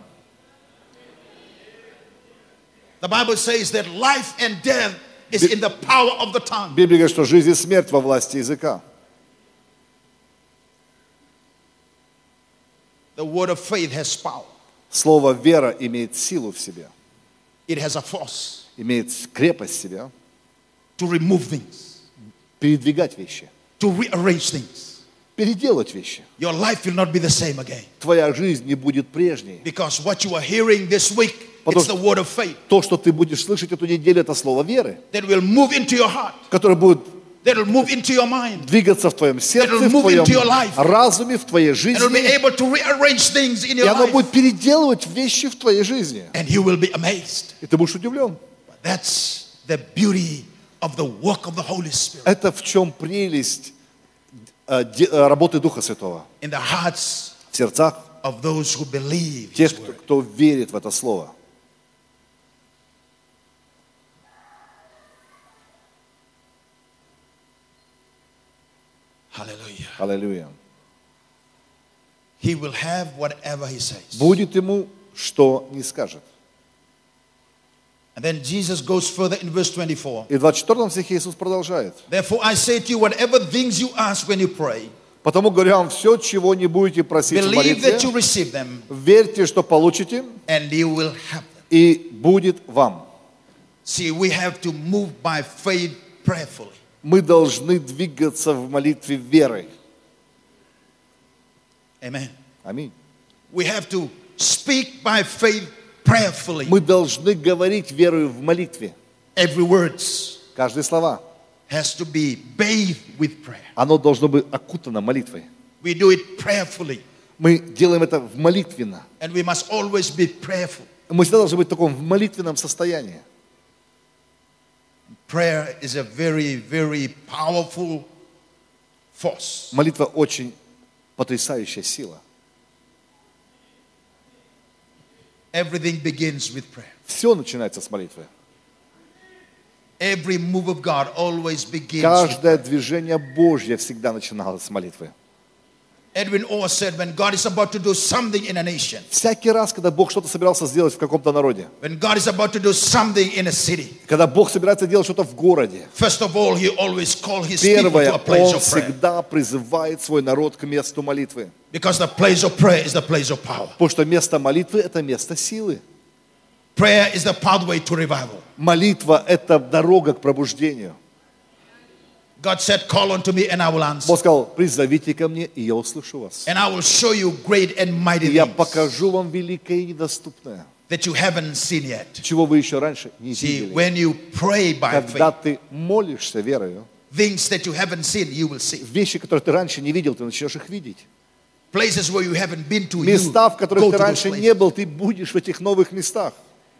The Bible says that life and death is in the power of the tongue. Библия говорит, что жизнь и смерть во власти языка. The word of faith has power. Слово «вера» имеет силу в себе, It has a force имеет крепость в себе, to remove things, передвигать вещи, to rearrange things. переделать вещи. Your life will not be the same again. Твоя жизнь не будет прежней. Because what you are hearing this week, Потому it's the word of faith То, что ты будешь слышать эту неделю, это слово веры, that will move into your heart, которое будет that will move into your mind, двигаться в твоем сердце, It'll в move твоем into your life. разуме, в твоей and will be жизни. able to rearrange things in И your оно life. будет переделывать вещи в твоей жизни. And you will be amazed. И ты будешь удивлен. That's the beauty of the work of the Holy Spirit Это в чем прелесть работы Духа Святого in the hearts в сердцах of those who believe тех, His word. кто верит в это слово. Hallelujah. Аллилуйя. He will have whatever He says. Будет ему, что не скажет. And then Jesus goes further in verse 24. И в 24 стихе Иисус продолжает. Therefore I say to you, whatever things you ask when you pray, Потому говорю вам, все, чего не будете просить в believe that you молитве, receive them, верьте, что получите, and you will have them. и будет вам. See, we have to move by faith prayerfully. Мы должны двигаться в молитве верой. Amen. Аминь. We have to speak by faith prayerfully. Мы должны говорить верою в молитве. Every words, Каждые слова. has to be bathed with prayer. Оно должно быть окутано молитвой. We do it prayerfully, Мы делаем это в молитвенно. and we must always be prayerful. Мы всегда должны быть в таком молитвенном состоянии. Prayer is a very, very powerful force. Молитва очень потрясающая сила. Everything begins with prayer. Все начинается с молитвы. Every move of God always begins with Каждое prayer. движение Божье всегда начиналось с молитвы. Edwin Orr said, when God is about to do something in a nation, Всякий раз, когда Бог что-то собирался сделать в каком-то народе, when God is about to do something in a city, когда Бог собирается делать что-то в городе, first of all, he always calls his people первое, to a place Он of prayer. всегда призывает свой народ к месту молитвы. Because the place of prayer is the place of power. Потому что место молитвы – это место силы. Prayer is the pathway to revival. Молитва – это дорога к пробуждению. God said, call unto me and I will answer. Бог сказал: призовите ко мне, и я услышу вас. And I will show you great and mighty И я things покажу вам великое и недоступное, that you haven't seen yet. чего вы еще раньше не See, видели. when you pray by Когда faith, ты молишься верою, things that you haven't seen, you will see. вещи, которые ты раньше не видел, ты начнешь их видеть. Places where you haven't been to, you Места, в которых go ты to those раньше places. не был, ты будешь в этих новых местах.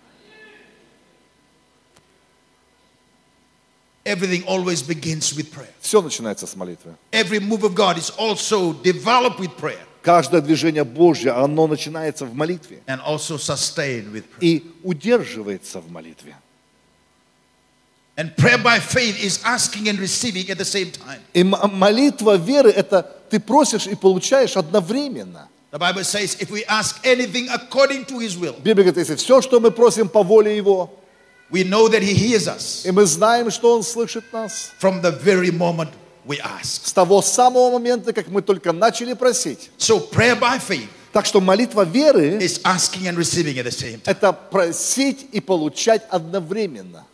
Everything always begins with prayer. Все начинается с молитвы. Every move of God is also developed with prayer Каждое движение Божье, оно начинается в молитве and also sustained with prayer. и удерживается в молитве. And prayer by faith is asking and receiving at the same time. И молитва веры – это ты просишь и получаешь одновременно. The Bible says, if we ask anything according to His will, Библия говорит, если все, что мы просим по воле Его, we know that He hears us и мы знаем, что Он слышит нас, from the very moment we ask. с того самого момента, как мы только начали просить. So prayer by faith Так что молитва веры is asking and receiving at the same – time. это просить и получать одновременно.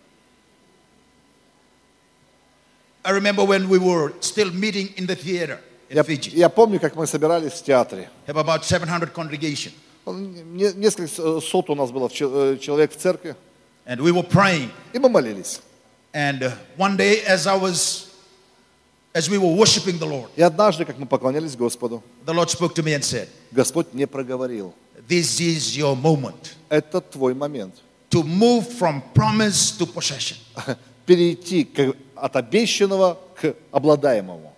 I remember when we were still meeting in the theater in Fiji. Я помню, как мы собирались в театре. Have about 700 congregation. Несколько сот у нас было человек в церкви, And we were praying. и мы молились. And one day as we were worshiping the Lord, И однажды, как мы поклонялись Господу, the Lord spoke to me and said, Господь мне проговорил: this is your moment это твой момент. to move from promise to possession. Перейти от обещанного к обладаемому.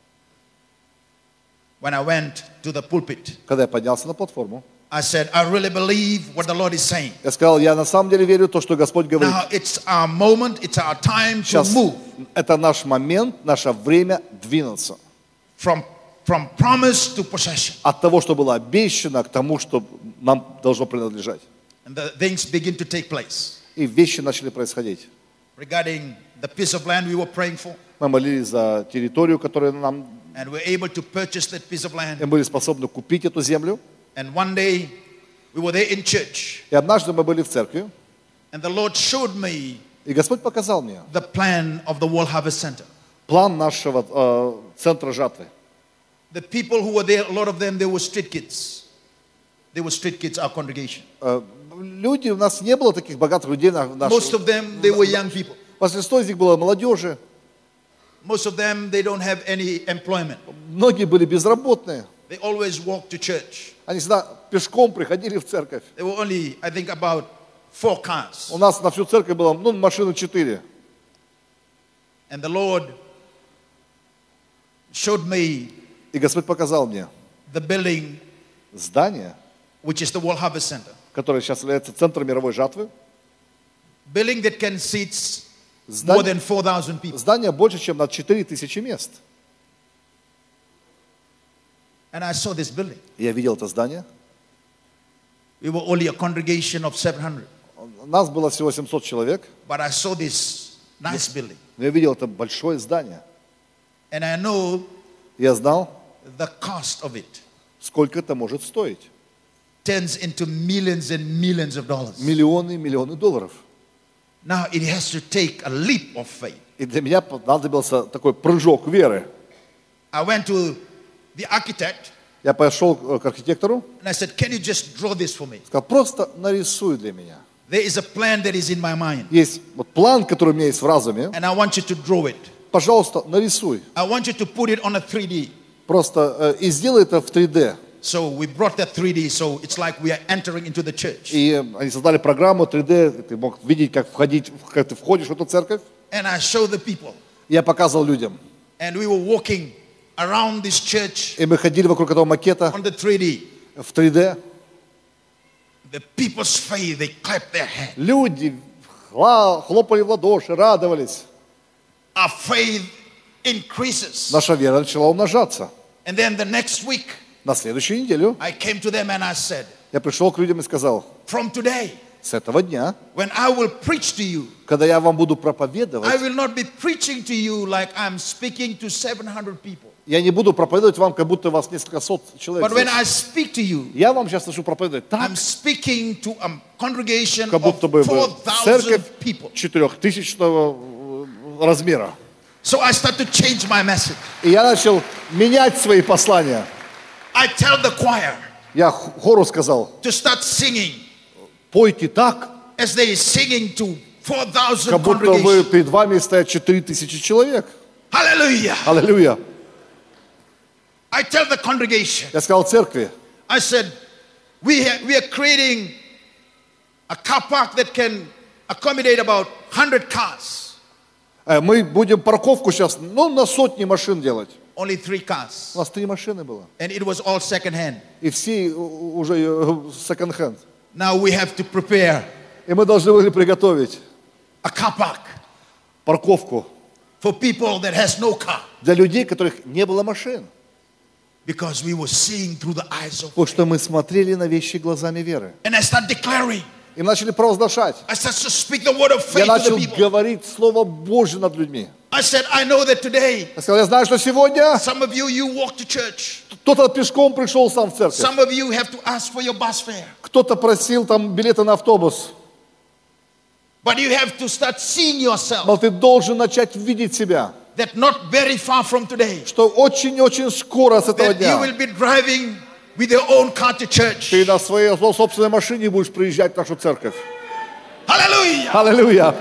When I went to the pulpit, Когда я поднялся на платформу, I said, I really believe what the Lord is saying. я сказал: я на самом деле верю в то, что Господь говорит. Now it's our moment, it's our time to Сейчас move это наш момент, наше время двинуться. from promise to possession. От того, что было обещано, к тому, что нам должно принадлежать. And the things begin to take place. И вещи начали происходить. Regarding the piece of land we were praying for, Мы молились за территорию, которую нам... and we're able to purchase that piece of land. Мы были способны купить эту землю. And one day we were there in church, И однажды мы были в церкви, and the Lord showed me и Господь показал мне the plan of the World Harvest Center. план нашего центра жатвы. The people who were there, a lot of them, they were street kids. They were street kids, our congregation. Люди, у нас не было таких богатых людей. Most of them, they were young people. Большинство из них было молодежи. Most of them, they don't have any employment. Многие были безработные. They always walk to church. Они всегда пешком приходили в церковь. There were only, I think, about 4 cars. У нас на всю церковь было, машины 4. And the Lord showed me И Господь показал мне the building, здание, which is the World Harvest Center. которое сейчас является центром мировой жатвы. Building that can seat more than 4,000 people. Здание больше, чем на 4000 мест. And I saw this building. Я видел это здание. We were only a congregation of 700. Нас было всего 700 человек. But I saw this nice building. Но я видел это большое здание. And I know Я знал, the cost of it сколько это может стоить. turns into millions and millions of dollars. Миллионы и миллионы долларов. Now it has to take a leap of faith. И для меня понадобился такой прыжок веры. I went to the architect Я пошел к архитектору, and I said, can you just draw this for me? сказал: просто нарисуй для меня. There is a plan that is in my mind, Есть вот план, который у меня есть в разуме. and I want you to draw it. Пожалуйста, нарисуй. I want you to put it on a 3D. Просто и сделай это в 3D. So we brought that 3D, so it's like we are entering into the church. И они создали программу 3D, ты мог видеть, как ты входишь в эту церковь. And I showed the people. Я показывал людям. And we were walking around this church И мы ходили вокруг этого макета on the 3D. в 3D. The people's faith, they clapped their hands. Люди хлопали в ладоши, радовались. Our faith increases. Наша вера начала умножаться. And then the next week, На следующую неделю I came to them and I said, я пришел к людям и сказал, from today, с этого дня, when I will preach to you, когда я вам буду I проповедовать, will not be preaching to you like I'm speaking to 700 people. я не буду проповедовать вам, как будто вас несколько сот человек But when здесь. I speak to you, Я вам сейчас начну проповедовать так, I'm speaking to a congregation как будто of бы 4,000 церковь people. 4000 размера. So I start to change my message. И я начал менять свои послания. I tell the choir Я хору сказал, to start singing пойте так, as they are singing to 4,000 как будто вы congregations. перед вами стоят 4000 человек. Hallelujah. Аллилуйя. I tell the congregation, Я сказал церкви, I said, we are creating a car park that can accommodate about 100 cars. мы будем парковку сейчас, на сотни машин делать. Only 3 cars. У нас 3 машины было. And it was all second hand. И все уже секонд-хенд. Now we have to prepare И мы должны были приготовить a car park парковку for people that has no car. для людей, у которых не было машин. Because we were seeing through the eyes of Потому что мы смотрели на вещи глазами веры. And I start declaring. И мы начали провозглашать. I start to speak the word of Я faith to начал the people. говорить Слово Божье над людьми. I said, I know that today, Я сказал, я знаю, что сегодня some of you walk to church. кто-то пешком пришел сам в церковь. Some of you have to ask for your bus fare. Кто-то просил там билеты на автобус. But you have to start seeing yourself Но ты должен начать видеть себя. that not very far from today, Что очень-очень скоро с этого that you дня will be driving with your own car to church. ты на своей собственной машине будешь приезжать в нашу церковь. Hallelujah. Аллилуйя.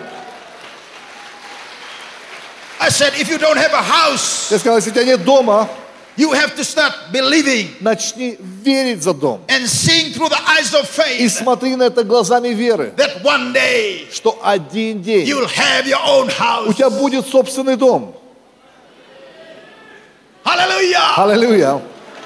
I said, if you don't have a house, Я сказал, если у тебя нет дома, you have to start believing начни верить за дом. and seeing through the eyes of И faith смотри на это глазами веры. that one day Что один день you'll have your own у house. тебя будет собственный дом. Hallelujah. Аллилуйя.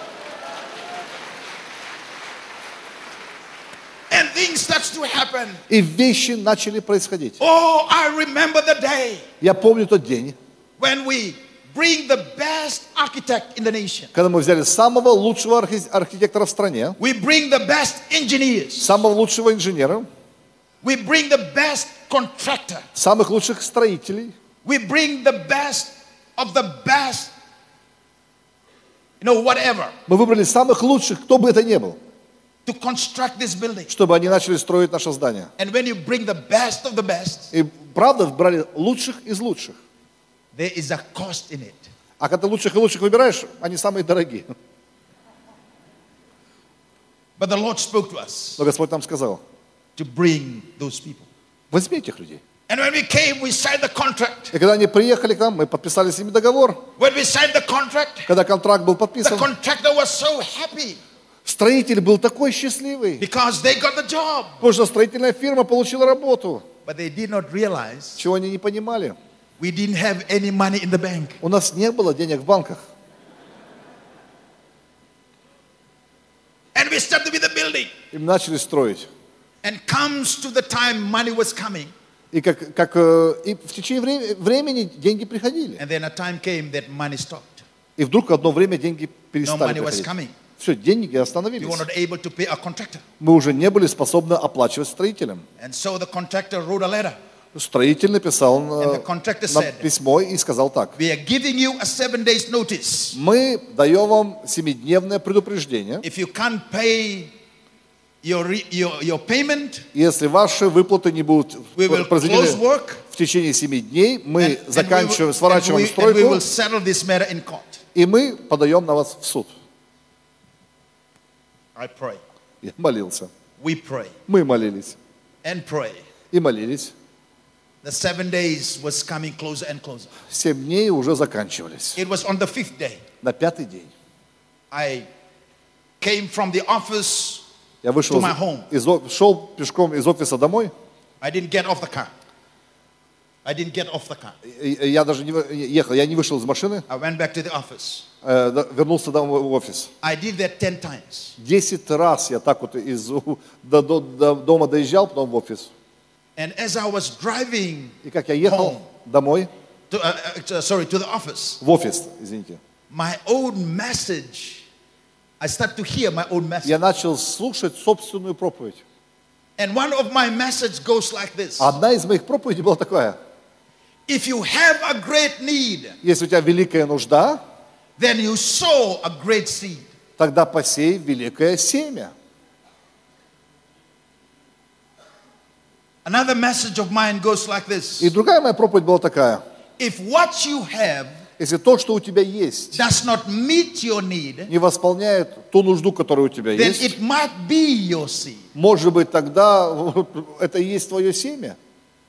And things starts to happen. И вещи начали происходить. Oh, I remember the day Я помню тот день, when we bring the best architect in the nation. когда мы взяли самого лучшего архитектора в стране, We bring the best engineers. самого лучшего инженера, We bring the best contractor. самых лучших строителей, We bring the best of the best, whatever, мы выбрали самых лучших, кто бы это ни был, to construct this building. чтобы они начали строить наше здание. And when you bring the best of the best, И правда, брали лучших из лучших. there is a cost in it. А когда лучших и лучших выбираешь, они самые дорогие. But the Lord spoke to us Но Господь нам сказал, to bring those people. возьми этих людей. And when we came, we signed the contract. И когда они приехали к нам, мы подписали с ними договор. When we signed the contract, Когда контракт был the подписан, contractor was so happy строитель был такой счастливый, because they got the job. потому что строительная фирма получила работу. But they did not realize Чего они не понимали. we didn't have any money in the bank. У нас не было денег в банках. And we started with the building. И мы начали строить. And comes to the time money was coming. И и в течение времени деньги приходили. And then a time came that money stopped. И вдруг одно время деньги No перестали money was приходить. coming. Все, деньги We остановились. were not able to pay our contractor. Мы уже не были способны оплачивать строителям. And so the contractor wrote a letter. Строитель написал And the contractor на said, письмо и сказал так. we are giving you a 7 days notice. Мы даем вам 7-дневное предупреждение. If you can't pay your payment, Если ваши выплаты не будут we will close произведены work. в течение 7 дней, мы And заканчиваем, we сворачиваем will стройку, settle this matter in court. и мы подаем на вас в суд. I pray. Я молился. We pray. Мы молились. and pray. и молились. The 7 days was coming closer and closer. 7 дней уже заканчивались. It was on the 5th day. На 5-й день I came from the office я вышел to my home. шел пешком из офиса домой. I didn't get off the car. I didn't get off the car. Я даже не ехал, я не вышел из машины, I went back to the office. вернулся домой в офис. I did that 10 times. 10 раз я так вот до дома доезжал, потом в офис. And as I was driving И как я ехал домой, to the office, в офис, извините, my own message, I start to hear my own message. я начал слушать собственную проповедь. And one of my message goes like this. Одна из моих проповедей была такая: If you have a great need, если у тебя великая нужда, then you sow a great seed. тогда посей великое семя. Another message of mine goes like this. И другая моя проповедь была такая: If what you have если то, что у тебя есть, does not meet your need, не восполняет ту нужду, которая у тебя then есть, it might be your seed. может быть, тогда это и есть твое семя.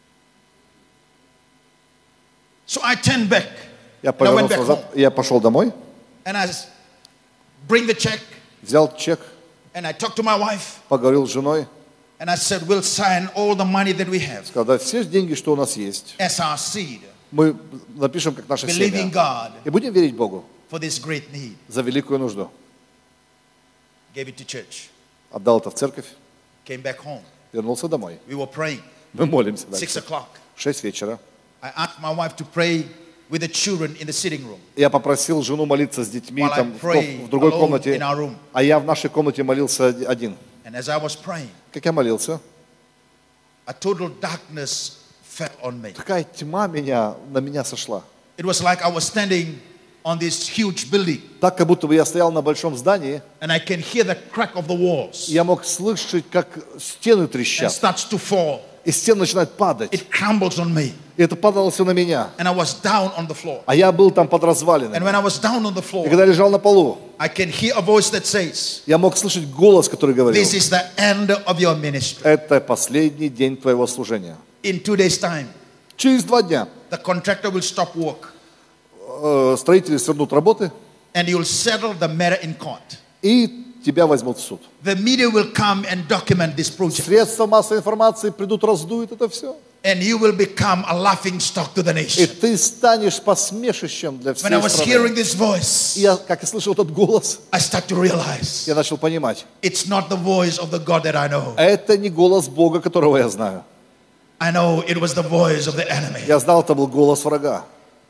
So I turned back. Я I went повернулся back назад, home. я пошел домой, And I bring the check, взял чек, and I talked to my wife, поговорил с женой, and I said, we'll sign all the money that we have сказал: да, все деньги, что у нас есть, as our seed, мы напишем как наше believing семя. God И будем верить Богу for this great need. за великую нужду. Gave it to church. Отдал это в церковь, Came back home. вернулся домой. We were praying. Мы молимся 6 дальше. o'clock. 6 вечера. I asked my wife to pray with the children in the sitting room. Я попросил жену молиться с детьми While I там pray в другой alone комнате, in our room. а я в нашей комнате молился один. And as I was praying, Как я молился, a total darkness fell on me. такая тьма на меня сошла. It was like I was standing on this huge building, Так, как будто бы я стоял на большом здании, and I can hear the crack of the walls. и я мог слышать, как стены It трещат, starts to fall. и стены начинают падать. It crumbles on me. И это падало все на меня. And I was down on the floor. А я был там под And развалинами. when I was down on the И floor, когда я лежал на полу, I can hear a voice that says, я мог слышать голос, который говорил: this is the end of your ministry. это последний день твоего служения. In 2 days' time, Через 2 дня the contractor will stop work, строители свернут работы, and you'll settle the matter in court. и тебя возьмут в суд. The media will come and document this project, Средства массовой информации придут, раздуют это все. and you will become a laughing stock to the И nation. ты станешь посмешищем для When I всей was hearing страны. this voice, И я, как я слышал этот голос, I start to realize я начал понимать: it's not the voice of the God that I know. это не голос Бога, которого я знаю. I know it was the voice of the enemy. Я знал, это был голос врага.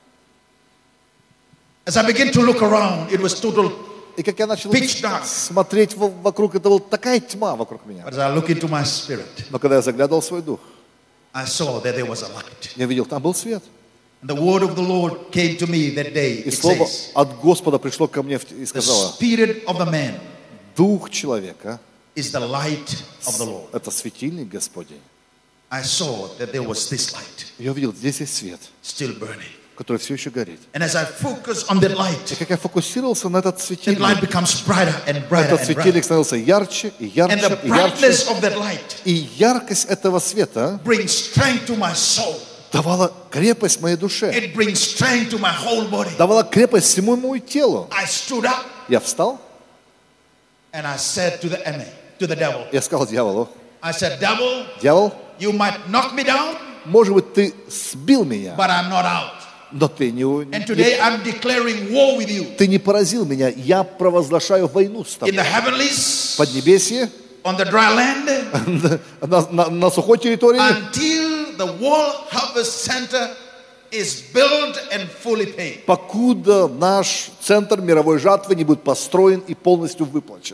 As I began to look around, it was total. И как я начал Pitch dark. смотреть вокруг, это была такая тьма вокруг меня. But as I look into my spirit, Но когда я заглядывал в свой дух, I saw that there was a light. я видел, там был свет. And the word of the Lord came to me that day. И It слово says, от Господа пришло ко мне и the сказало: spirit of the man дух человека is the light of the Lord. — это светильник Господень. I saw that there was this light Я увидел, здесь есть свет, still burning. который все еще горит. And as I focus on that И light, как я фокусировался на этот that light светильник, becomes brighter and brighter этот and светильник brighter. становился ярче и And ярче the и ярче. brightness of that light И яркость этого света brings strength to my soul. давала крепость моей душе, It brings strength to my whole body. давала крепость всему моему телу. I stood up Я встал, and I said to the devil, я сказал дьяволу: I said, devil, дьявол, you might knock me down, может быть, ты сбил меня, but I'm not out. но ты And today I'm declaring war with you ты не поразил меня. Я провозглашаю войну с in the тобой. heavenlies, Поднебесье, on the dry land, на сухой территории, until the World Harvest Center is built and fully paid. покуда наш центр мировой жатвы не будет построен и полностью выплачен.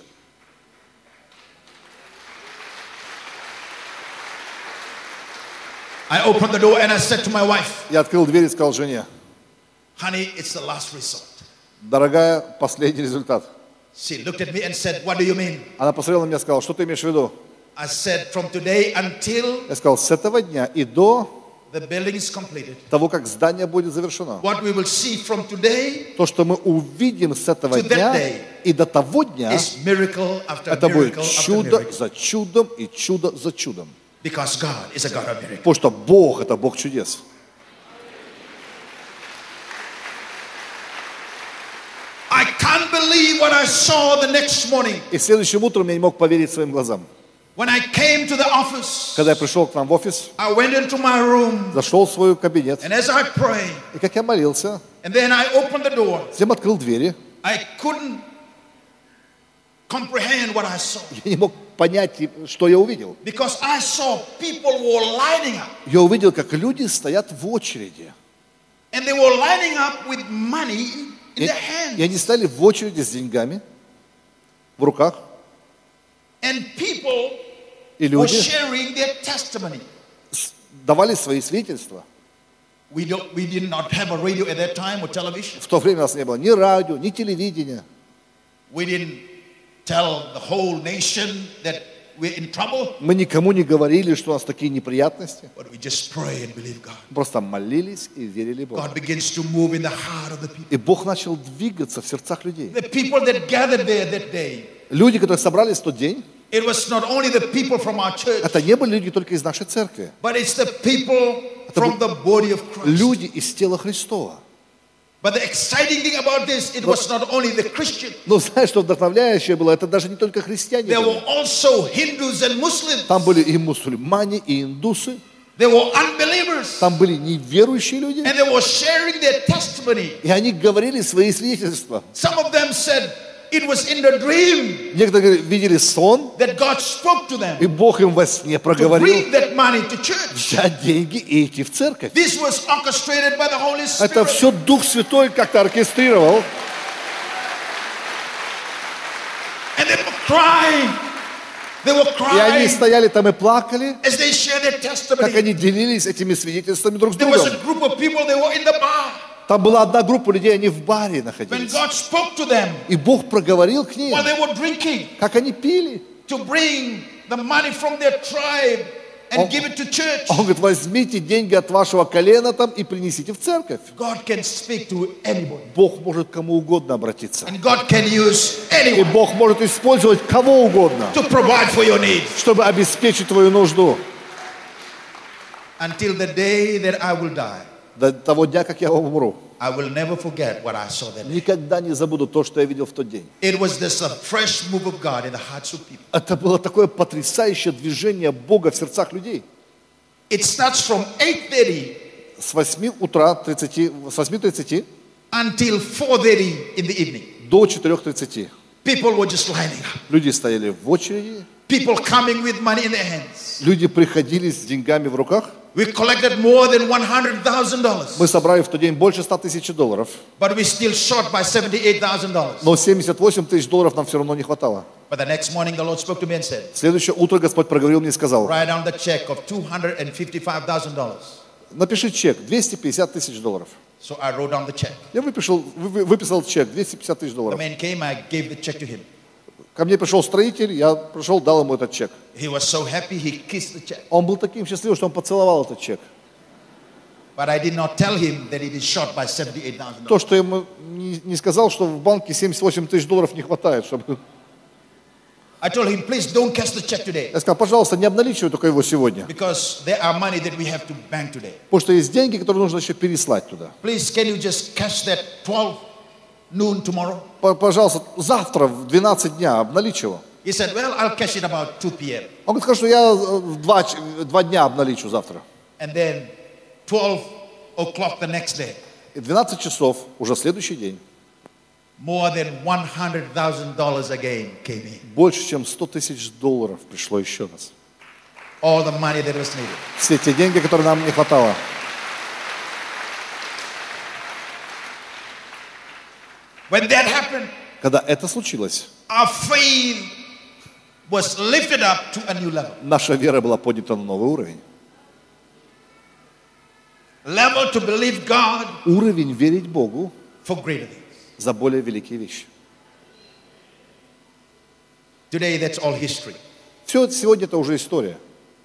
I opened the door and I said to my wife, Я открыл дверь и сказал жене: honey, it's the last resort. дорогая, последний результат. She looked at me and said, what do you mean? Она посмотрела на меня и сказала: что ты имеешь в виду? I said, from today until Я сказал: с этого дня и до the building is completed, того, как здание будет завершено. what we will see from today То, что мы увидим с этого To that дня day и до того дня, is miracle after это будет miracle after чудо miracle. за чудом и чудо за чудом. Because God is a God of miracles. Потому что Бог – это Бог чудес. I can't believe what I saw the next morning. И следующим утром я не мог поверить своим глазам. When I came to the office, Когда я пришел к нам в офис, I went into my room, зашел в свой кабинет, and as I prayed, и как я молился, and then I opened the door, затем открыл двери, I couldn't comprehend what I saw. я не мог понять, что я увидел. Because I saw people were lining up. Я увидел, как люди стоят в очереди. And they were lining up with money in their И hands. они стали в очереди с деньгами в руках. And people И were люди sharing their testimony. давали свои свидетельства. We did not have a radio at that time or television. В то время у нас не было ни радио, ни телевидения. We didn't tell the whole nation that we're in trouble. Мы никому не говорили, что у нас такие неприятности. But we just pray and believe God. Просто молились и верили Богу. God begins to move in the heart of the people. И Бог начал двигаться в сердцах людей. The people that gathered there that day, Люди, которые собрались в тот день, it was not only the people from our church, это не были люди только из нашей церкви. but it's the people from the body of Christ. Люди из тела Христова. But the exciting thing about this, it was not only the Christian. Но знаешь, что вдохновляющее было? Это даже не только христиане There были. were also Hindus and Muslims. Там были и мусульмане, и индусы. There were unbelievers. Там были неверующие люди. And they were sharing their testimony. И они говорили свои свидетельства. Some of them said it was in the dream Некоторые видели сон, that God spoke to them и Бог им во сне to проговорил bring that money to church. взять деньги и идти в церковь. This was orchestrated by the Holy Это Spirit. все Дух Святой как-то оркестрировал. And they were crying. They were И они crying стояли там и плакали, as they shared their как testimony. они делились этими свидетельствами друг с There was другом. a group of people, they were in the bar. Там была одна группа людей, они в баре When находились. God spoke to them И Бог проговорил к ним, while they were drinking как они пили. to bring the money from their tribe and give it to church. Он говорит, возьмите деньги от вашего колена там и принесите в церковь. God can speak to anybody. Бог может к кому угодно обратиться. And God can use И anyone Бог может использовать кого угодно, to provide for your needs. чтобы обеспечить твою нужду. Until the day that I will die, До того дня, как я умру. I will never forget what I saw that day. Никогда не забуду то, что я видел в тот день. It was this a fresh move of God in the hearts of people. Это было такое потрясающее движение Бога в сердцах людей. It starts from 8:30 С 8:30 until 4:30 in the evening. до 4:30. People were just lining up. Люди стояли в очереди, People coming with money in their hands. люди приходили с деньгами в руках. We collected more than $100,000, Мы собрали в тот день больше $100 000. but we still short by $78,000. Но $78 000 нам все равно не хватало. But the next morning, the Lord spoke to me and said, В следующее утро Господь проговорил мне и сказал, write down the check of $255,000. напиши чек, $250 000. So I wrote down the check. Я выписал чек, $250 The 000. man came, I gave the check to him. Ко мне пришел строитель, я пришел, дал ему этот чек. He was so happy, he kissed the check. Он был таким счастливым, что он поцеловал этот чек. But I did not tell him that it is short by $78,000. То, что я ему не сказал, что в банке $78 000 не хватает. Чтобы... I told him, please don't cash the check today, Я сказал, пожалуйста, не обналичивай только его сегодня. because there are money that we have to bank today. Потому что есть деньги, которые нужно еще переслать туда. Please, can you just cash that 12 noon tomorrow? Пожалуйста, завтра в 12 дня обналичь его. He said, well, I'll cash it about 2 p.m. Он говорит, что я в 2 дня обналичу завтра. And then 12 o'clock the next day, И 12 часов, уже следующий день, more than $100,000 again came in. больше, чем $100 000 пришло еще раз. All the money that was needed. Все те деньги, которые нам не хватало. When that happened, Когда это случилось, our faith was lifted up to a new level. наша вера была поднята на новый уровень. Level to believe God Уровень верить Богу for greater things. за более великие вещи. Today, that's all history. Все сегодня это уже история.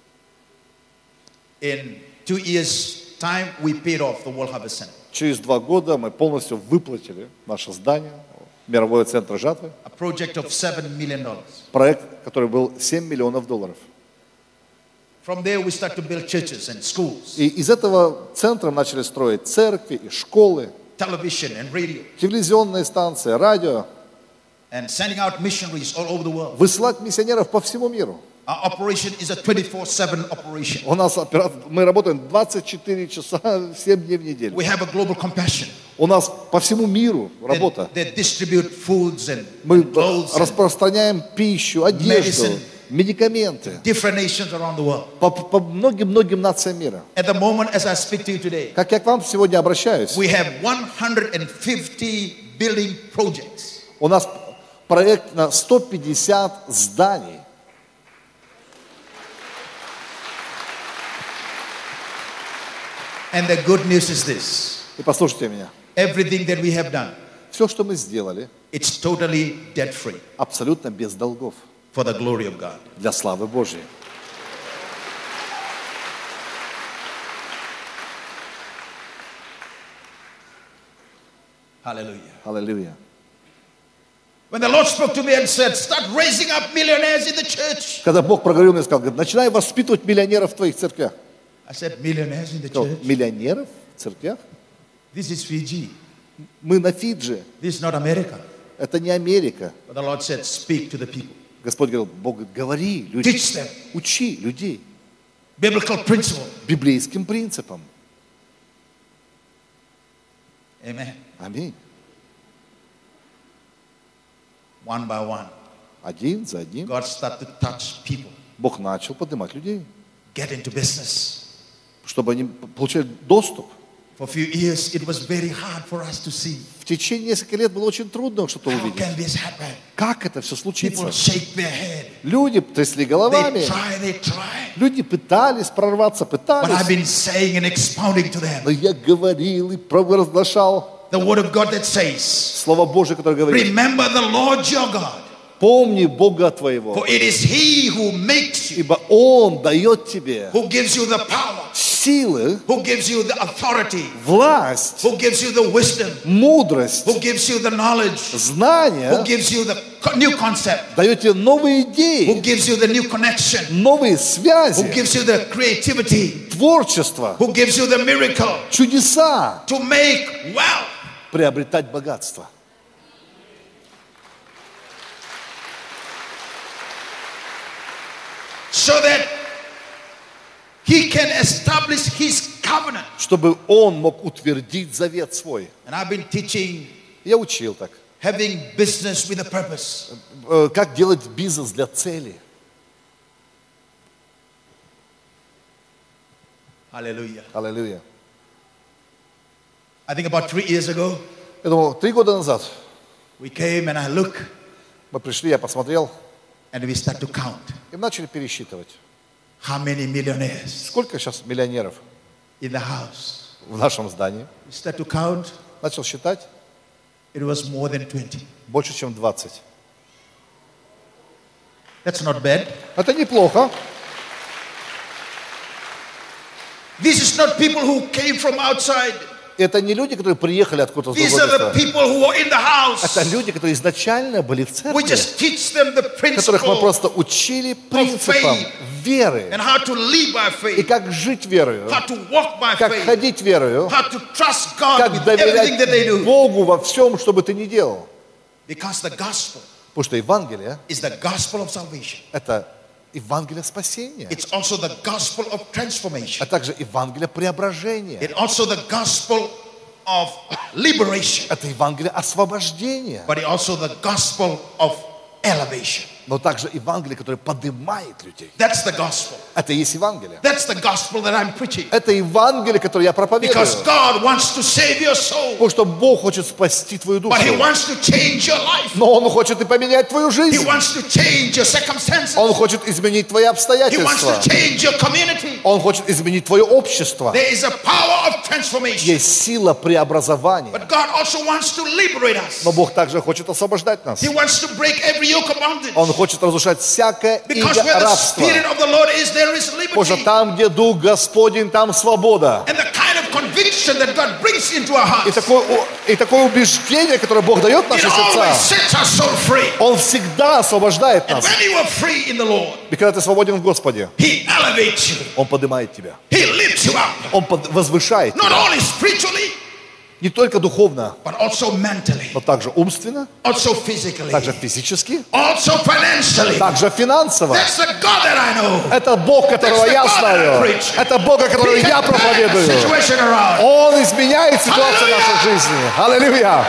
In 2 years' time, we paid off the World Harvest Center. Через 2 года мы полностью выплатили наше здание, мировой центр жатвы. A project of $7 million. Проект, который был $7 миллионов. From there we start to build churches and schools, И из этого центра начали строить церкви и школы, television and radio, телевизионные станции, радио, and sending out missionaries all over the world. высылать миссионеров по всему миру. Our operation is a 24/7 operation. У нас мы работаем 24 часа, 7 дней в неделю. We have a global compassion. У нас по всему миру работа. They distribute foods and Мы clothes and распространяем пищу, одежду, medicine. медикаменты different nations around the world. по многим-многим нациям мира. At the moment, as I speak to you today, Как я к вам сегодня обращаюсь, we have 150 building projects. у нас проект на 150 зданий. And the good news is this. И послушайте меня. Everything that we have done, Все, что мы сделали, it's totally debt-free абсолютно без долгов, for the glory of God. для славы Божьей. Hallelujah. Аллилуйя. When the Lord spoke to me and said, start raising up millionaires in the church. Когда Бог проговорил мне и сказал, говорит, начинай воспитывать миллионеров в твоих церквях. I said, millionaires in the Что, church? миллионеров в церквях? This is Fiji. Мы на Фиджи. This is not America. Это не Америка. But the Lord said, speak to the people. Господь говорил, Бог говорит, говори людям, Teach them учи людей biblical principle. библейским принципам. Amen. Аминь. One by one, Один за одним God started to touch people. Бог начал поднимать людей, Get into business. чтобы они получали доступ. For a few years, it was very hard for us to see. В течение нескольких лет было очень трудно что-то How увидеть. can this happen? Как это все случится? People shake their head. Люди трясли They головами, try. люди пытались прорваться, But I've пытались. been saying and expounding to them Но я говорил и провозглашал the word of God that says, Слово Божие, которое говорит, remember the Lord your God, помни Бога твоего, for it is He who makes you, ибо Он дает тебе who gives you the power, силы, who gives you the authority, власть, who gives you the wisdom, мудрость, who gives you the knowledge, who знания, gives you the new concept, дает тебе новые who идеи, gives you the new connection, новые who связи, gives you the creativity, творчество, who gives you the miracle чудеса, to make wealth. приобретать богатство. So that He can establish His covenant. Чтобы Он мог утвердить завет свой. And I've been teaching Я учил так. having business with a purpose. Как делать бизнес для цели. Hallelujah. Аллилуйя. I think about 3 years ago, Я думал, 3 года назад we came and I look мы пришли, я посмотрел, and we start to count и начали пересчитывать. how many millionaires Сколько сейчас миллионеров in the house. в нашем здании? We start to count, Начал считать, it was more than 20. больше, чем 20. That's not bad. Это неплохо. This is not people who came from outside. Это не люди, которые приехали откуда-то с These другого are the места. people who are in the house. Это люди, которые изначально были в We церкви, just teach them the которых мы principle просто учили принципам веры. and how to live by И faith, как жить верою, how to walk by как faith, ходить верою, how to trust God как with everything that they доверять do. Богу во всем, что бы ты ни делал. Because the gospel Потому что Евангелие is the gospel of salvation. – это Евангелие спасения, It's also the gospel of transformation. а также Евангелие преображения. It's also the gospel of liberation. Это Евангелие освобождения, But it's also the gospel of elevation. но также Евангелие, которое поднимает людей. That's the gospel. Это и есть Евангелие. That's the gospel that I'm preaching. Это Евангелие, которое я проповедую. Because God wants to save your soul. Потому что Бог хочет спасти твою душу. But He wants to change your life. Но Он хочет и поменять твою He жизнь. wants to change your circumstances. Он хочет изменить твои He wants обстоятельства. to change your community. Он хочет изменить твое общество. There is a power of transformation. Есть сила преобразования. But God also wants to liberate us. Но Бог также хочет освобождать нас. He wants to break every yoke of bondage. Он хочет разрушать всякое Because иго where the рабства. Spirit of the Lord is, there is Потому что liberty. там, где Дух Господень, там свобода. And the kind of conviction that God brings into our И hearts, такое убеждение, которое Бог дает в наши it always сердца, sets our soul free. Он всегда освобождает And нас. when you are free in the Lord, И когда ты свободен в Господе, He elevates you. Он поднимает тебя. He lifts you up. Он возвышает Not тебя. only spiritually, Не только духовно, but also mentally, но также умственно, also physically, также физически, also financially. также финансово. That's the God that I know. Это Бог, которого я знаю. Это Бог, которого He я can turn the проповедую. situation around. Он изменяет ситуацию в нашей жизни. Аллилуйя!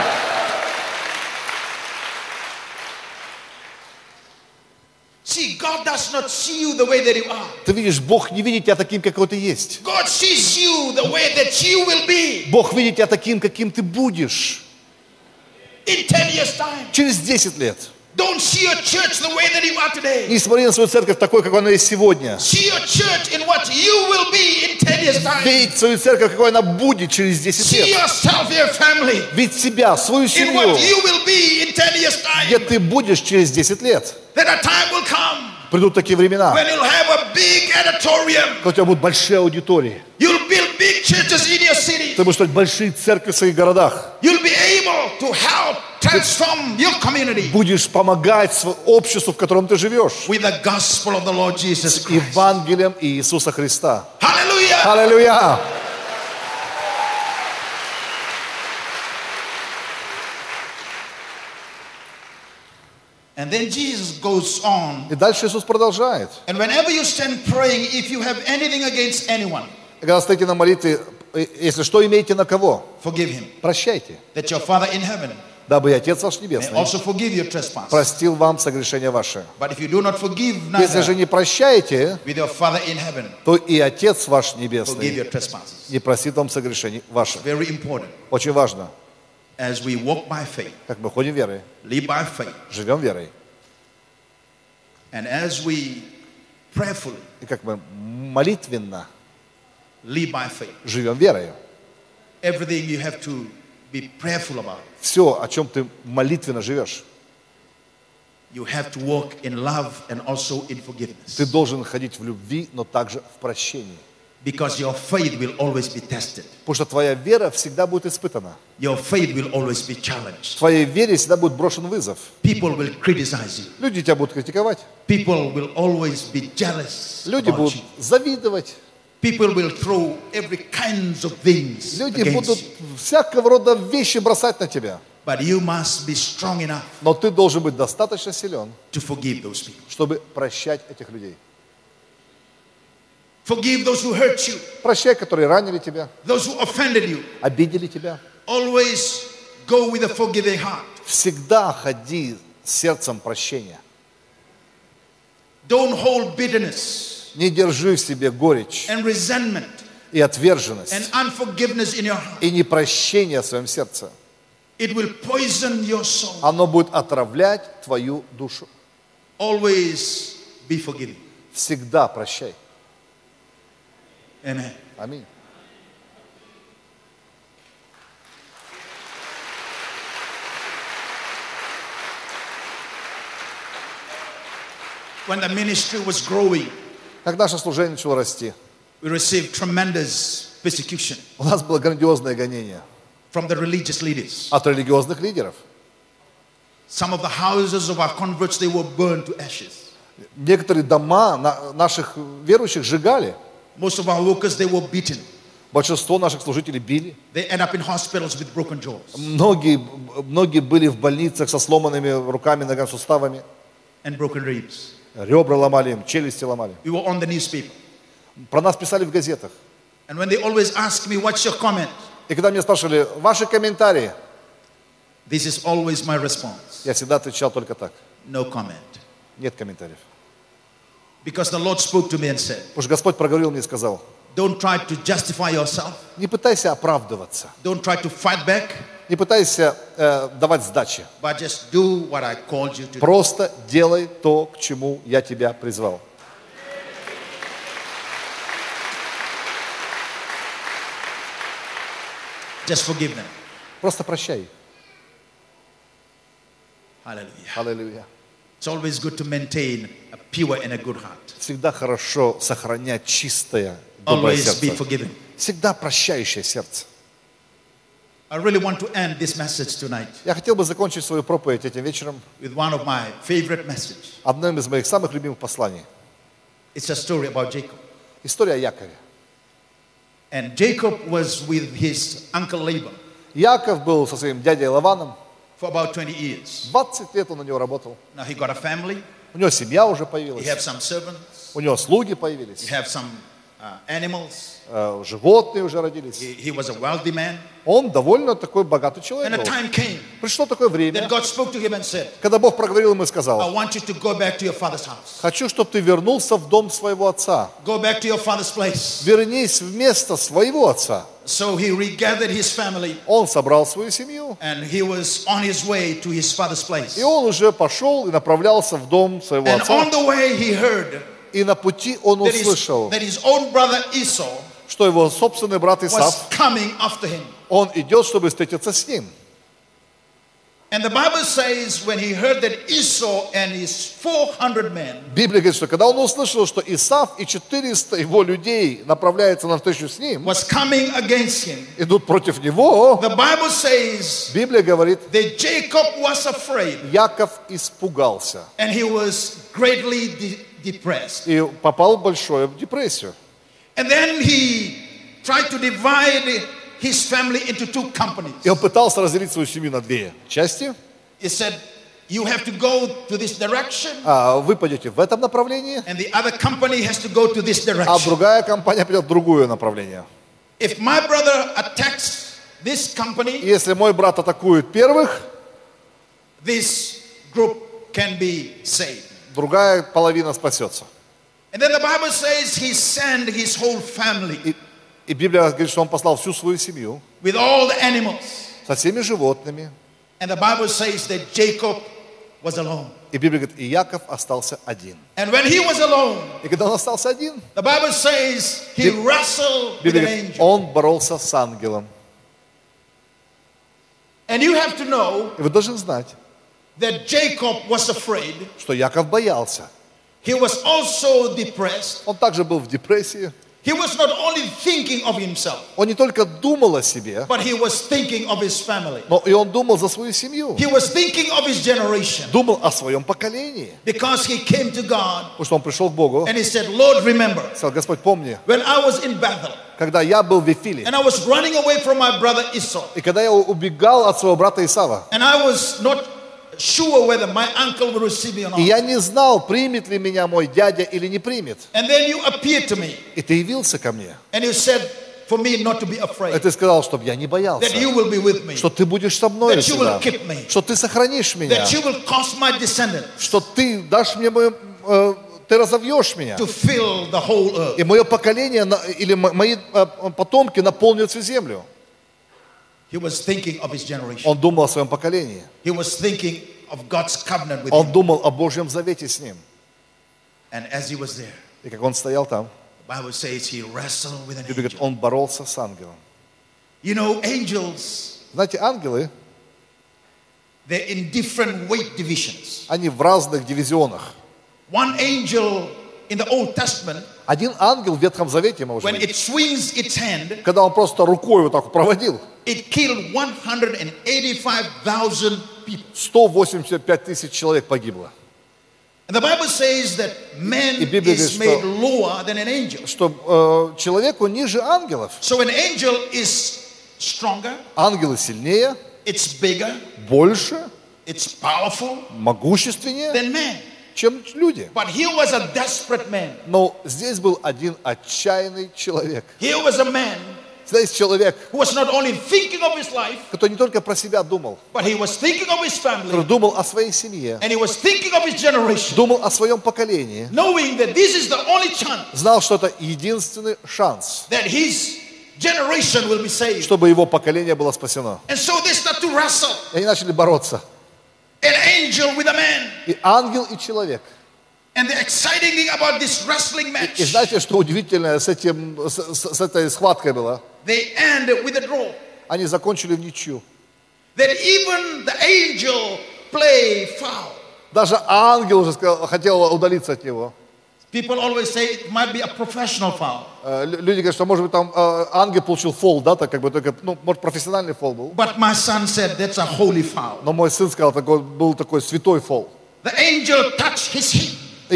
See, God does not see you the way that you are. Ты видишь, Бог не видит тебя таким, какой ты есть. God sees you the way that you will be Бог видит тебя таким, каким ты будешь in 10 years' time. через 10 лет. Don't see your church the way that you are today. Не смотри на свою церковь такой, какой она есть сегодня. See your church in what you will be in 10 years' time. Видеть свою церковь, какой она будет через 10 See лет. yourself, your family, Видеть себя, свою in семью, what you will be in 10 years' где time. ты будешь через 10 лет. That a time will come Придут такие времена, when you'll have a big auditorium. когда у тебя будут большие аудитории. You'll build big churches in your city. Ты будешь строить большие церкви в своих городах. You'll be able to help transform your community Будешь помогать обществу, в котором ты живешь. with the gospel of the Lord Jesus С Christ. Евангелием Иисуса Христа. Hallelujah. Аллилуйя! And then Jesus goes on. И дальше Иисус продолжает. And whenever you stand praying, if you have anything against anyone, И когда стоите на молитве, если что имеете на кого, forgive him. прощайте, That your Father in heaven дабы и Отец ваш may Небесный also forgive your trespass. простил вам согрешения ваши. But if you do not forgive Если же neither не прощаете, with your Father in heaven, то и Отец ваш forgive Небесный your trespasses. не простит вам согрешений ваших. Very important. Очень важно, As we walk by faith, как мы ходим верой, live by faith, живем верой, and as we prayerfully и как мы молитвенно live by faith, живем верой. everything you have to be prayerful about. Все, о чем ты молитвенно живешь, You have to walk in love and also in ты forgiveness. должен ходить в любви, но также в прощении. Because your faith will always be tested. Потому что твоя вера всегда будет испытана. Your faith will always be challenged. Твоей вере всегда будет брошен вызов. People will criticize you. Люди тебя будут критиковать. People will always be jealous Люди about будут you. завидовать. People will throw every kinds of things Люди against будут you. всякого рода вещи бросать на тебя. But you must be strong enough Но ты должен быть достаточно силен, to forgive those people. чтобы прощать этих людей. Forgive those who hurt you, Прощай, которые ранили тебя, those who offended you. обидели тебя. Always go with a forgiving heart. Всегда ходи с сердцем прощения. Don't hold bitterness Не держи в себе горечь and resentment и отверженность, and unforgiveness in your heart. и непрощение в своем сердце. It will poison your soul. Оно будет отравлять твою душу. Always be forgiving. Всегда прощай. Amen. Аминь. When the ministry was growing, Как наше служение начало расти, we received tremendous persecution у нас было грандиозное гонение from the religious leaders. от религиозных лидеров. Some of the houses of our converts, they were burned to ashes. Некоторые дома наших верующих сжигали. Most of our workers, they were beaten. Большинство наших служителей били. They end up in hospitals with broken jaws. Многие были в больницах со сломанными руками, ногами, суставами. And broken ribs. Ребра ломали им, челюсти ломали. We were on the newspaper. Про нас писали в газетах. And when they always ask me, what's your comment? И когда меня спрашивали, ваши комментарии, This is always my response. я всегда отвечал только так. No comment. Нет комментариев. Because the Lord spoke to me and said, Потому что Господь проговорил мне и сказал, don't try to justify yourself. не пытайся оправдываться, Don't try to fight back, не пытайся давать сдачи. but just do what I called you to do. Просто делай то, к чему я тебя призвал. Just forgive them. Просто прощай. Hallelujah. Аллилуйя. It's always good to maintain a pure and a good heart. Всегда хорошо сохранять чистое, доброе Always be сердце. forgiving. всегда прощающее сердце. I really want to end this message tonight Я хотел бы закончить свою проповедь этим вечером with one of my favorite messages. одним из моих самых любимых посланий. It's a story about Jacob. История о Якове. And Jacob was with his uncle Laban Яков был со своим дядей Лаваном. for about 20 years. 20 лет он у него работал. Now he got a family, У него семья уже he появилась. have some servants, У него слуги he появились. have some animals. Животные уже родились. He was a wealthy man. Он довольно такой богатый And человек a был. time came Пришло такое that время, God spoke to him and said, когда Бог проговорил ему и I сказал: want you to go back to your father's house. хочу, чтобы ты вернулся в дом своего отца. Go back to your father's place. Вернись в место своего отца. So he regathered his family Он собрал свою семью, and he was on his way to his father's place. и он уже пошел и направлялся в дом своего And отца. on the way he heard И на пути он услышал, that his own brother Esau что его собственный брат was Исав, coming after him. он идет, чтобы встретиться с ним. And the Bible says when he heard that Esau and his 400 men Библия говорит, что когда он услышал, что Исав и 400 его людей направляются на встречу с ним, was coming against him, идут против него, the Bible says Библия говорит, that Jacob was afraid Яков испугался and he was greatly depressed. и попал в большую депрессию. And then he tried to divide his family into two companies. И он пытался разделить свою семью на две части. He said, you have to go to this direction, Вы пойдете в этом направлении, and the other company has to go to this а direction. другая компания пойдет в другое направление. If my brother attacks this И company, если мой брат атакует первых, this group can be saved. другая половина спасется. And then the Bible says he sent his whole family И Библия говорит, что он послал всю свою семью with all the animals. со всеми животными. And the Bible says that Jacob was alone. И Библия говорит, и Яков остался один. And when he was alone, И когда он остался один, the Bible says he wrestled with Библия an говорит, angel. он боролся с ангелом. And you have to know И вы должны знать, that Jacob was afraid. что Яков боялся. He was also depressed. Он также был в депрессии. He was not only thinking of himself, Он не только думал о себе, but he was thinking of his family. но и он думал за свою семью. He was thinking of his generation Думал о своем поколении. because he came to God Потому что он пришел к Богу, and he said, Lord, remember, сказал: Господь, помни, when I was in Bethel когда я был в Вифиле, and I was running away from my brother Esau, и когда я убегал от своего брата Исава, and I was not sure whether my uncle would receive me or и not. я не знал, примет ли меня мой дядя или не примет. And then you appeared to me И ты явился ко мне. and you said for me not to be И afraid, ты сказал, чтобы я не боялся, that you will be with me, что ты будешь со мной that you will всегда, keep me, что ты сохранишь меня, that you will cause my descendants что ты дашь мне ты разовьешь меня, to fill the whole earth. и мое поколение или мои потомки наполнят всю землю. He was thinking of his generation. Он думал о своем поколении. He was thinking of God's covenant with Он him. думал о Божьем завете с ним. And as he was there, И как он стоял там, the Bible says he wrestled with an Библия говорит, angel. он боролся с ангелом. You know, angels, Знаете, ангелы, they're in different weight divisions. они в разных дивизионах. One angel in the Old Testament, Один ангел в Ветхом Завете, может when быть, it swings its hand, когда он просто рукой вот так вот проводил, it killed 185,000 people. 185 тысяч человек погибло. And the Bible says that man И Библия is говорит, made lower than an angel. Что человеку ниже ангелов. So an angel is stronger, Ангелы сильнее, it's bigger, больше, it's powerful могущественнее, than man. чем люди. But he was a desperate man. Но здесь был один отчаянный человек. Here was a man Здесь человек, who was not only thinking of his life, который не только про себя думал, but he was thinking of his который family, думал о своей семье, and he was thinking of his generation, думал о своем поколении, knowing that this is the only chance знал, что это единственный шанс, that his generation will be saved. чтобы его поколение было спасено. And so they start to wrestle, И они начали бороться. an angel with a man. И ангел, и человек. And the exciting thing about this wrestling И match, знаете, что удивительное с этой схваткой было? they end with a draw. Они закончили в ничью. That even the angel play foul. Даже ангел уже хотел удалиться от него. People always say it might be a professional foul. Люди говорят, что, может быть, там ангел получил фол, да, так как бы только, ну, может, профессиональный фол был. But my son said that's a holy foul. Но мой сын сказал, был такой святой фол. The angel touched his hip.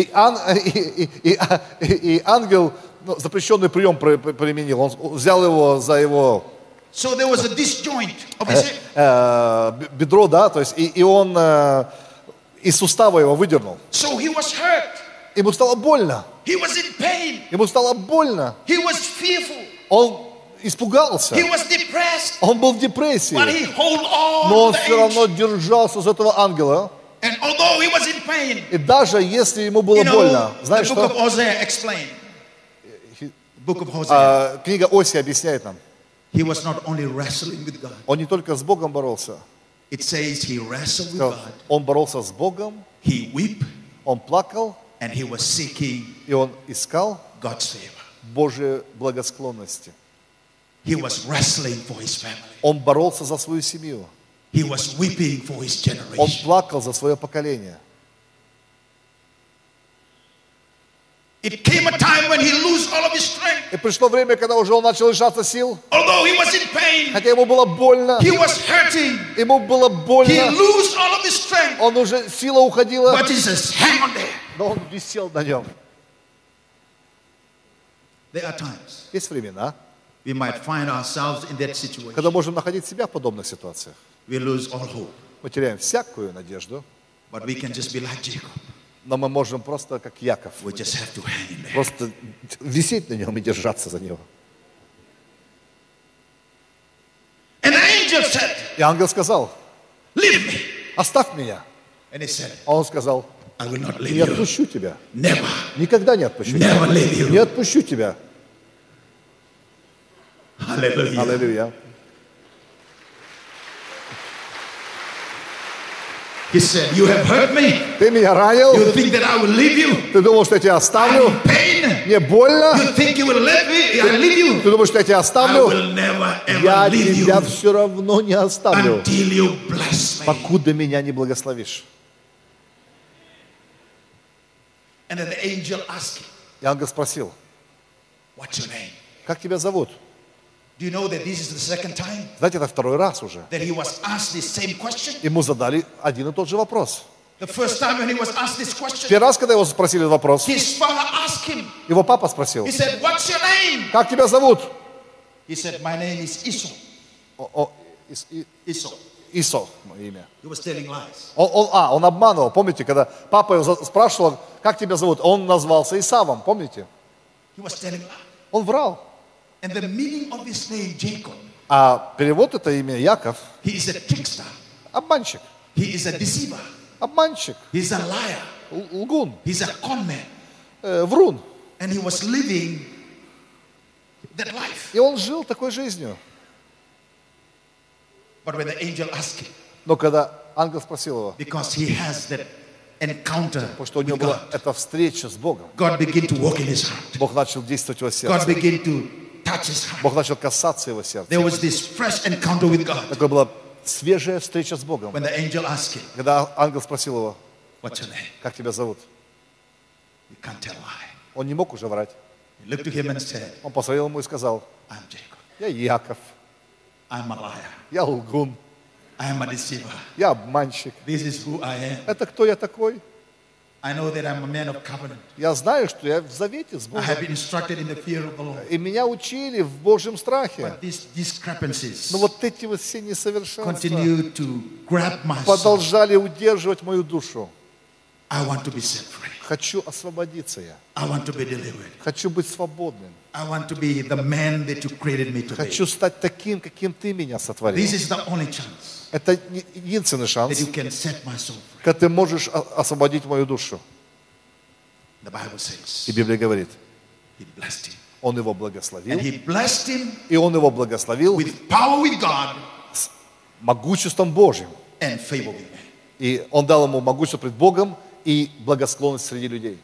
И ангел, ну, запрещенный прием применил. Он взял его за его So there was a disjoint of his hip. бедро, да, то есть, и он из сустава его выдернул. So he was hurt. Ему стало больно. He was in pain. Ему стало больно. He was fearful. Он испугался. He was depressed. Он был в депрессии. But he held on Но он to the все angel. равно держался за этого ангела. And although he was in pain, И даже если ему было you know, больно, знаешь the book of что? Hosea explained. Book of Hosea. Книга Осия объясняет нам. He was not only wrestling with God. Он не только с Богом боролся. It says he wrestled with God. Он боролся с Богом, He wept он плакал, and he was seeking и он искал God's favor. Божьей благосклонности. He was wrestling for his family. Он боролся за свою семью. He was weeping for his Он generation. плакал за свое поколение. It came a time when he lost all of his strength. И пришло время, когда уже он начал лишаться сил, Although he was in pain, хотя ему было больно, he was hurting. ему было He больно, lost all of his strength. он уже, сила уходила, But he says, hang on there. но он висел на нем. There are times Есть времена, we might find ourselves in that когда situation. можем находить себя в подобных ситуациях. We lose all hope. Мы теряем всякую надежду, But we can just be like Jacob. но мы можем просто, как Яков, We just have to hang in there. просто висеть на нем и держаться за него. And the angel said, И ангел сказал, leave me. оставь меня. And he said, А он сказал, I will not leave не you. отпущу тебя. Never. Никогда не отпущу Never тебя. leave you. Не отпущу тебя. Hallelujah. Аллилуйя. He said, you have hurt me. Ты меня ранил? You think that I will leave you? Ты думал, что я тебя оставлю? I'm in pain. Мне больно? You think you will let me? I leave you? Ты думаешь, что я тебя I оставлю? will never Я ever leave тебя you все равно не оставлю, until you bless me. покуда меня не благословишь. And then the angel asked him, И ангел спросил, what's your name? как тебя зовут? Do you know that this is the second time Знаете, это второй раз уже. that he was asked this same question? Ему задали один и тот же вопрос. The first time when he was asked this question, Первый раз, когда его спросили этот вопрос, his father asked him, его папа спросил, he said, what's your name? как тебя зовут? He said, my name is Esau. Esau. Исо, мое имя. He was telling lies. Он обманывал. Помните, когда папа его спрашивал, как тебя зовут, он назвался Исавом, помните? He was telling lies. Он врал. And the meaning of his name, Jacob, А перевод это имя Яков, he is a trickster. обманщик. He is a deceiver. Обманщик, He's a liar. лгун, He's a con man. врун. And he was living that life. И он жил такой жизнью. But when the angel asked him, Но когда ангел спросил его, because he has that encounter потому что у него with была God, эта встреча с Богом, God began to walk in his heart. Бог начал действовать в его God сердце. began to touch his heart. Бог начал касаться его сердца. There was this fresh encounter with God. Такая была свежая встреча с Богом. When the angel asked him, Когда ангел спросил его, what's your name? как тебя зовут, You can't tell lie. он не мог уже врать. He looked to him and said, Он посмотрел ему и сказал, I'm Jacob. я Яков, I'm a liar. я лгун, I am a deceiver. я обманщик. This is who I am. Это кто я такой? I know that I'm a man of covenant. Я знаю, что я в завете с I Богом. have been instructed in the fear of the Lord. И меня учили в Божьем страхе. But these discrepancies Но вот эти вот все несовершенства continue to grab my soul. продолжали удерживать мою душу. I want to be set free. Хочу освободиться я. I want to be delivered. Хочу быть свободным. I want to be the man that you created me to be. Хочу стать таким, каким ты меня сотворил. This is the only chance Это единственный that шанс, you can set my soul free. когда ты можешь освободить мою душу. The Bible says И Библия говорит, he blessed him. он его And благословил, he blessed him и он его благословил with power with God с могуществом Божьим. and favor with man. И он дал ему могущество пред Богом и благосклонность среди людей.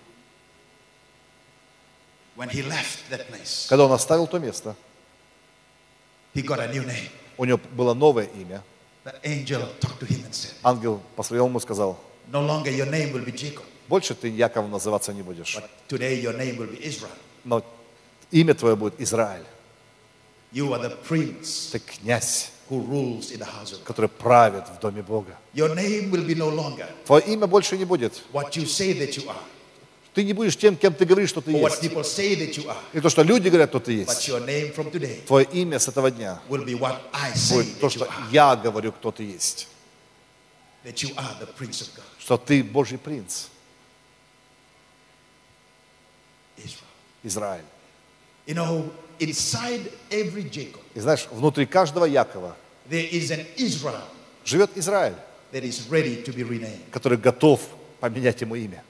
When he left that place, Когда он оставил то место, he got a new name. у него было новое имя. The angel talked to him and said, Ангел посмотрел ему и сказал, no longer your name will be Jacob. Больше ты Яковом называться не будешь. But today your name will be Israel. Но имя твое будет Израиль. You are the prince Ты князь, who rules in the house of God. который правит в доме Бога. Your name will be no longer Твое имя больше не будет. what you say that you are, Ты не будешь тем, кем ты говоришь, что ты or what есть. people say that you are. И то, что люди говорят, что ты But есть. your name from today Твое имя с этого дня will be what I say будет то, that you что are. я говорю, кто ты есть. That you are the prince of God. Что ты Божий принц, Israel. Израиль. You know, inside every Jacob, И знаешь, внутри каждого Якова there is an Israel живет Израиль, that is ready to be renamed. который готов поменять ему имя.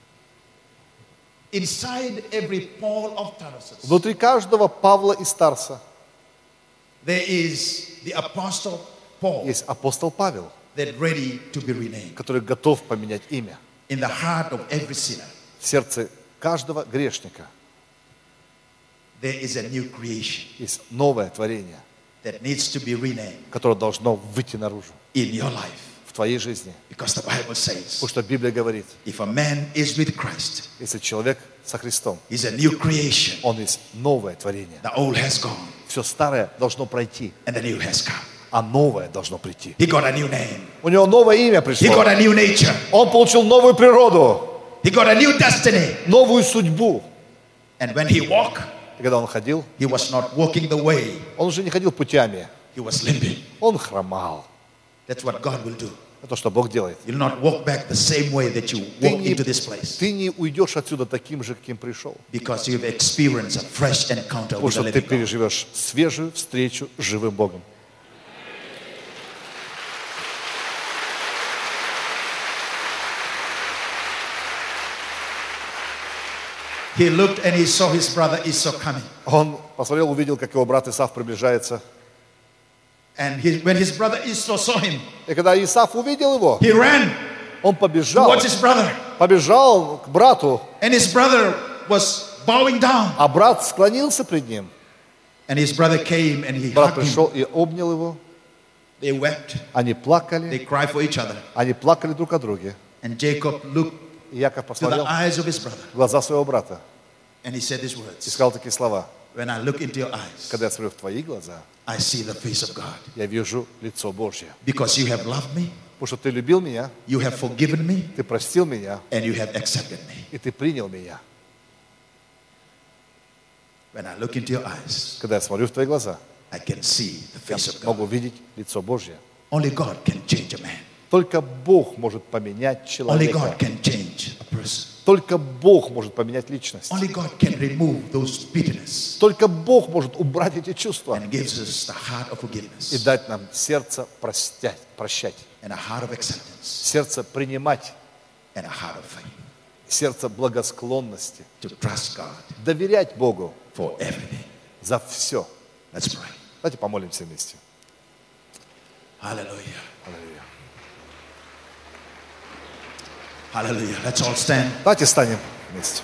Inside every Paul of Tarsus, Внутри каждого Павла из Тарса there is the apostle Paul есть апостол Павел, that ready to be renamed. который готов поменять имя. In the heart of every sinner, В сердце каждого грешника there is a new creation есть новое творение, that needs to be renamed которое должно выйти наружу in your life. в твоей жизни. Because the Bible says, Потому что Библия говорит, if a man is with Christ, если человек со Христом, he's a new creation. он есть новое творение. The old has gone Все старое должно пройти, and the new has come. а новое должно прийти. He got a new name. У него новое имя He пришло. got a new nature. Он получил новую природу, He got a new destiny. новую судьбу. And when he walked, И когда он ходил, he was not walking the way. он уже не ходил путями, He was limping. он хромал. That's what God will do. Это то, что Бог делает. You'll not walk back the same way that you walked into this place. Ты не уйдешь отсюда таким же, каким пришел. Because you've experienced a fresh encounter Потому with the что ты living God. переживешь свежую встречу с живым Богом. He looked and he saw his brother Esau coming. Он посмотрел, увидел, как его брат Исав приближается. And when his brother Esau saw him, И когда Исав увидел его, he ran он побежал, towards his brother. побежал к брату, And his brother was bowing down. а брат склонился пред ним. And his brother came and he Брат hugged him. пришел и обнял его. They wept. Они They плакали, cried for each other. они плакали друг о друге. And Jacob looked И Яков to the посмотрел eyes of his brother. в глаза своего брата And he said these и words. сказал такие слова. When I look into your eyes, Когда я смотрю в твои глаза, I see the face of God. я вижу лицо Божье. Because you have loved me, Потому что ты любил меня, you have forgiven me, ты простил меня, and you have accepted me. и ты принял меня. When I look into your eyes, Когда я смотрю в твои глаза, I can see the я face of God. могу видеть лицо Божье. Only God can change a man. Только Бог может поменять Only человека. God can change a person. Только Бог может поменять личность. Only God can remove those bitterness Только Бог может убрать эти чувства and gives us the heart of и forgiveness дать нам сердце прощать, and a heart of acceptance сердце принимать, and a heart of faith сердце благосклонности, to trust God доверять Богу for everything. за все. Let's pray. Давайте помолимся вместе. Hallelujah. Аллилуйя. Hallelujah. Let's all stand. Давайте станем вместе.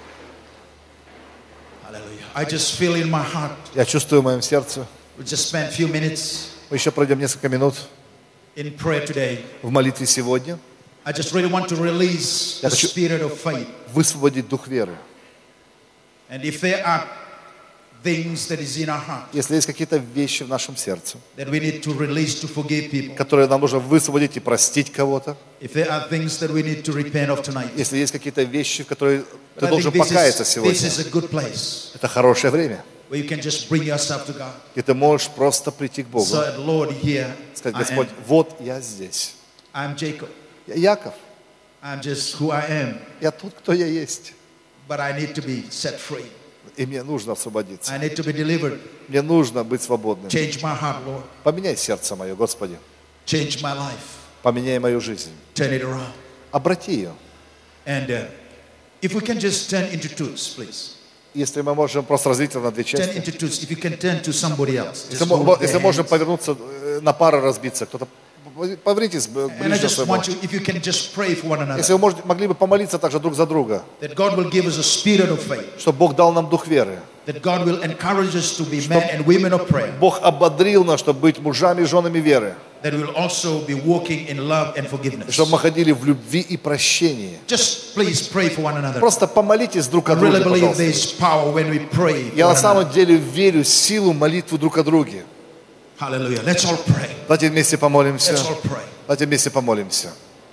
Hallelujah. I just feel in my heart. Я чувствую в моем сердце. We just spend a few minutes Мы еще пройдем несколько минут in prayer today. в молитве сегодня. I just really want to release the spirit of faith. Высвободить дух веры. And if there are things that is in our heart Если есть какие-то вещи в нашем сердце, that we need to release to forgive people, которые нам нужно высвободить и простить кого-то, if there are things that we need to repent of tonight, если есть какие-то вещи, в которые but ты I должен think покаяться this сегодня, is a good place это хорошее время. where you can just bring yourself to God. И ты можешь просто прийти к Богу, So, Lord, here сказать: I Господь, am. вот я здесь. I'm Jacob. Я Яков, I'm just who I am, я тот, кто я есть. but I need to be set free. И мне нужно освободиться. I need to be delivered. Мне нужно быть свободным. Change my heart, Lord. Поменяй сердце мое, Господи. Change my life. Поменяй мою жизнь. Turn it around. Обрати ее. And if we can just turn into twos, please. Если мы можем просто разделить это на две Turn части. into twos. If you can turn to somebody else. Если Just hold their если можем hands. повернуться на пары, разбиться, кто-то повернитесь And I ближе к just своему. want you, if you can just pray for one Если another, вы могли бы помолиться также друг за друга, that God will give us a spirit of faith, чтобы Бог дал нам дух веры. that God will encourage us to be men and women of prayer, Бог ободрил нас, чтобы быть мужами и женами веры. that we will also be walking in love and forgiveness. Чтобы мы ходили в любви и прощении. Just please pray for one another. Просто помолитесь друг о I really друге, believe there пожалуйста. is power when we pray. Я for на one самом another. деле верю в силу молитвы друг о друге. Hallelujah. Let's all pray. Давайте вместе помолимся. Let's all pray. Давайте вместе помолимся.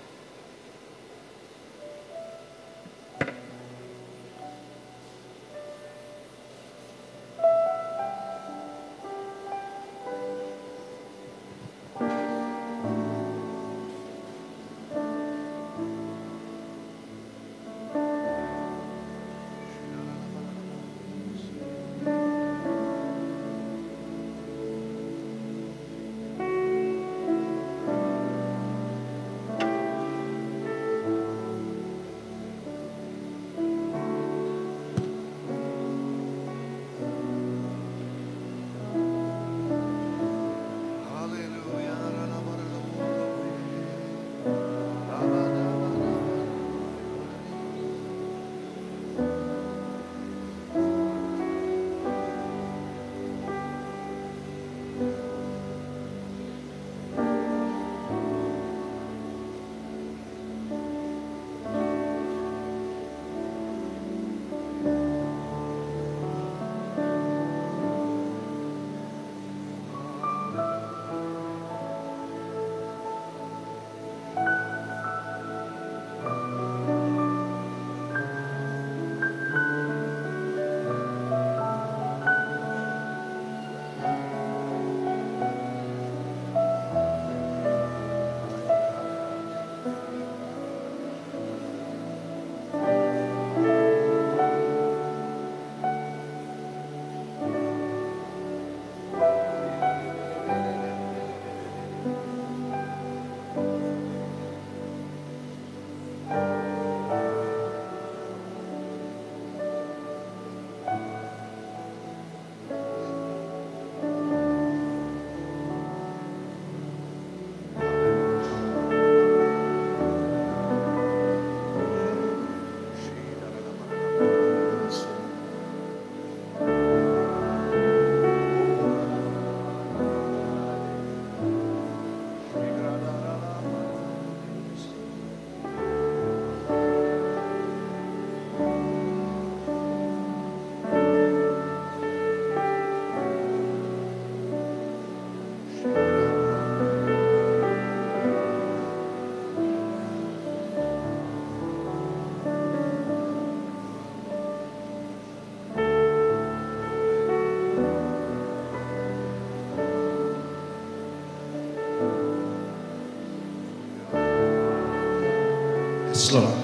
Yes, Lord.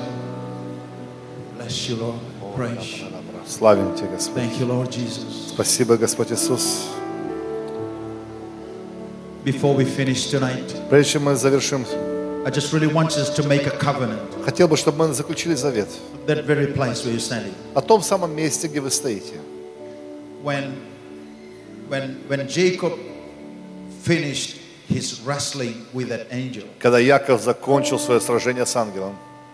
Bless you, Lord. Praise you. Славим Тебя, Господь. Thank you, Lord Jesus. Спасибо, Господь Иисус. Before we finish tonight, Прежде чем мы завершим, I just really want us to make a covenant. хотел бы, чтобы мы заключили завет That very place where you're standing. о том самом месте, где вы стоите. When Jacob finished his wrestling with that angel, Когда Яков закончил свое сражение с ангелом,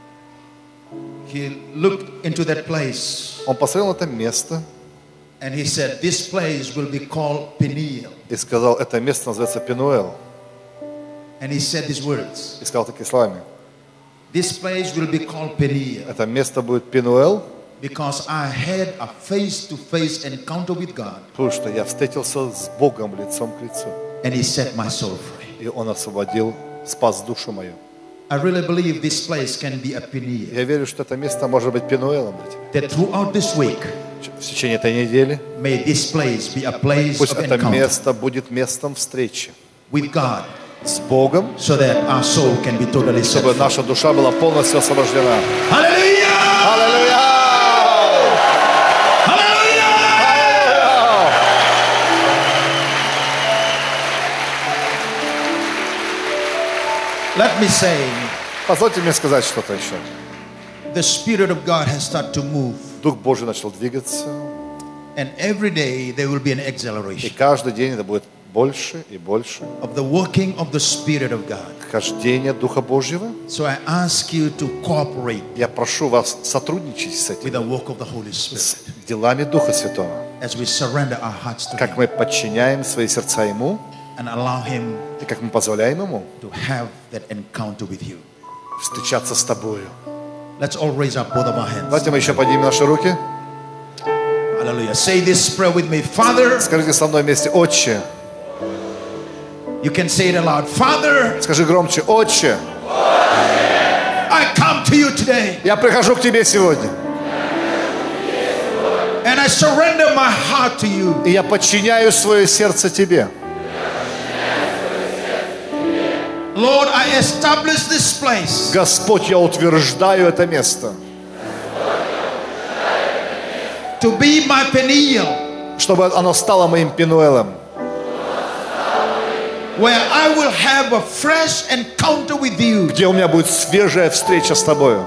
he looked into that place он посмотрел на это место and he said, this place will be called Peniel. и сказал, это место называется Пенуэл. And he said these words, И сказал такими словами, this place will be called Peniel это место будет Пенуэл, because I had a face-to-face encounter with God потому что я встретился с Богом лицом к лицу. and he set my soul free. И Он освободил, спас душу мою. I really believe this place can be a Peniel. Я верю, что это место может быть Пенуэлом для тебя. That throughout this week, В течение этой недели may this place be a place пусть of это encounter место будет местом встречи with God с Богом, so that our soul can be totally set чтобы free. наша душа была полностью освобождена. Hallelujah! Аллилуйя! Hallelujah! Let me say, Позвольте мне сказать что-то еще. the Spirit of God has started to move, Дух Божий начал двигаться, and every day there will be an и acceleration каждый день это будет больше и больше. of the working of the Spirit of God. Хождение Духа Божьего. So I ask you to cooperate Я прошу вас сотрудничать с with этим, the work of the Holy с Spirit делами Духа Святого. as we surrender our hearts to Как Him. мы подчиняем свои сердца Ему, and allow Him И как мы позволяем Ему to have that encounter with you. встречаться с Тобою. Let's all raise up both of our hands. Давайте мы еще поднимем наши руки. Hallelujah. Say this prayer with me. Father, Скажите со мной вместе: Отче. you can say it aloud. Father, Скажи громче: Отче, I come to you today я прихожу к Тебе сегодня. and I surrender my heart to you. И я подчиняю свое сердце Тебе. Lord, I establish this place Господь, я утверждаю это место, to be my Peniel, чтобы оно стало моим Пенуэлом, where I will have a fresh encounter with you. где у меня будет свежая встреча с Тобою.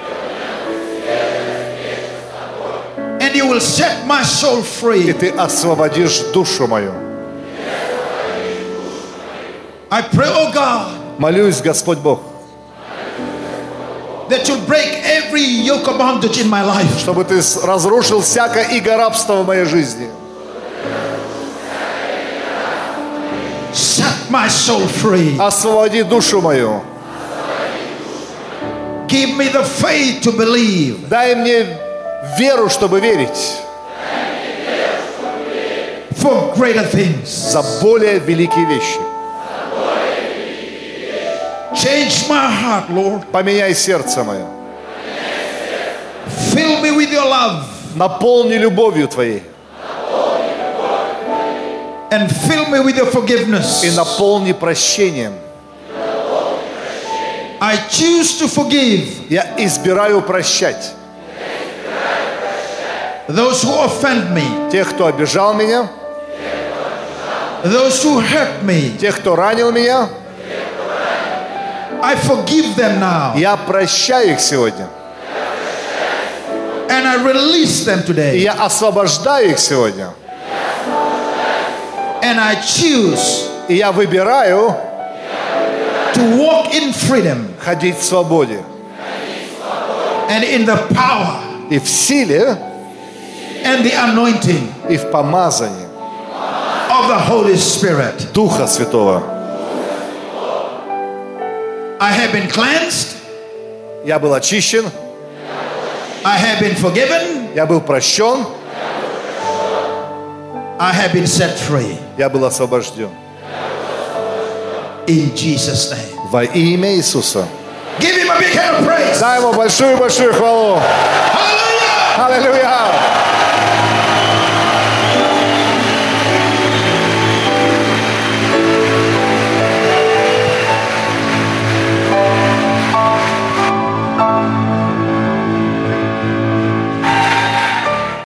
And you will set my soul И free. Ты освободишь душу мою. I pray, oh God, Молюсь, Господь Бог, that you'll break every yoke of bondage in my life. чтобы Ты разрушил всякое иго рабства в моей жизни. Set my soul free. Освободи душу мою. Give me the faith to believe Дай мне веру, чтобы верить for greater things. за более великие вещи. Change my heart, Lord. Поменяй сердце мое. Fill me with your love Наполни любовью Твоей. and fill me with your forgiveness. И наполни прощением. I choose to forgive Я избираю прощать those who offend me, тех, кто обижал меня, those who hurt me. тех, кто ранил меня. I forgive them now Я прощаю их сегодня. and I release them И today. я освобождаю их сегодня. And I choose И я выбираю to walk in freedom ходить в свободе and in the power и в силе, and the anointing и в помазании of the Holy Spirit. Духа Святого. I have been cleansed. Я был очищен, I have been forgiven. я был прощен, I have been set free. я был освобожден. In Jesus' name. Во имя Иисуса. Give him a big hand of praise. Дай Ему большую-большую хвалу. Hallelujah. Аллилуйя!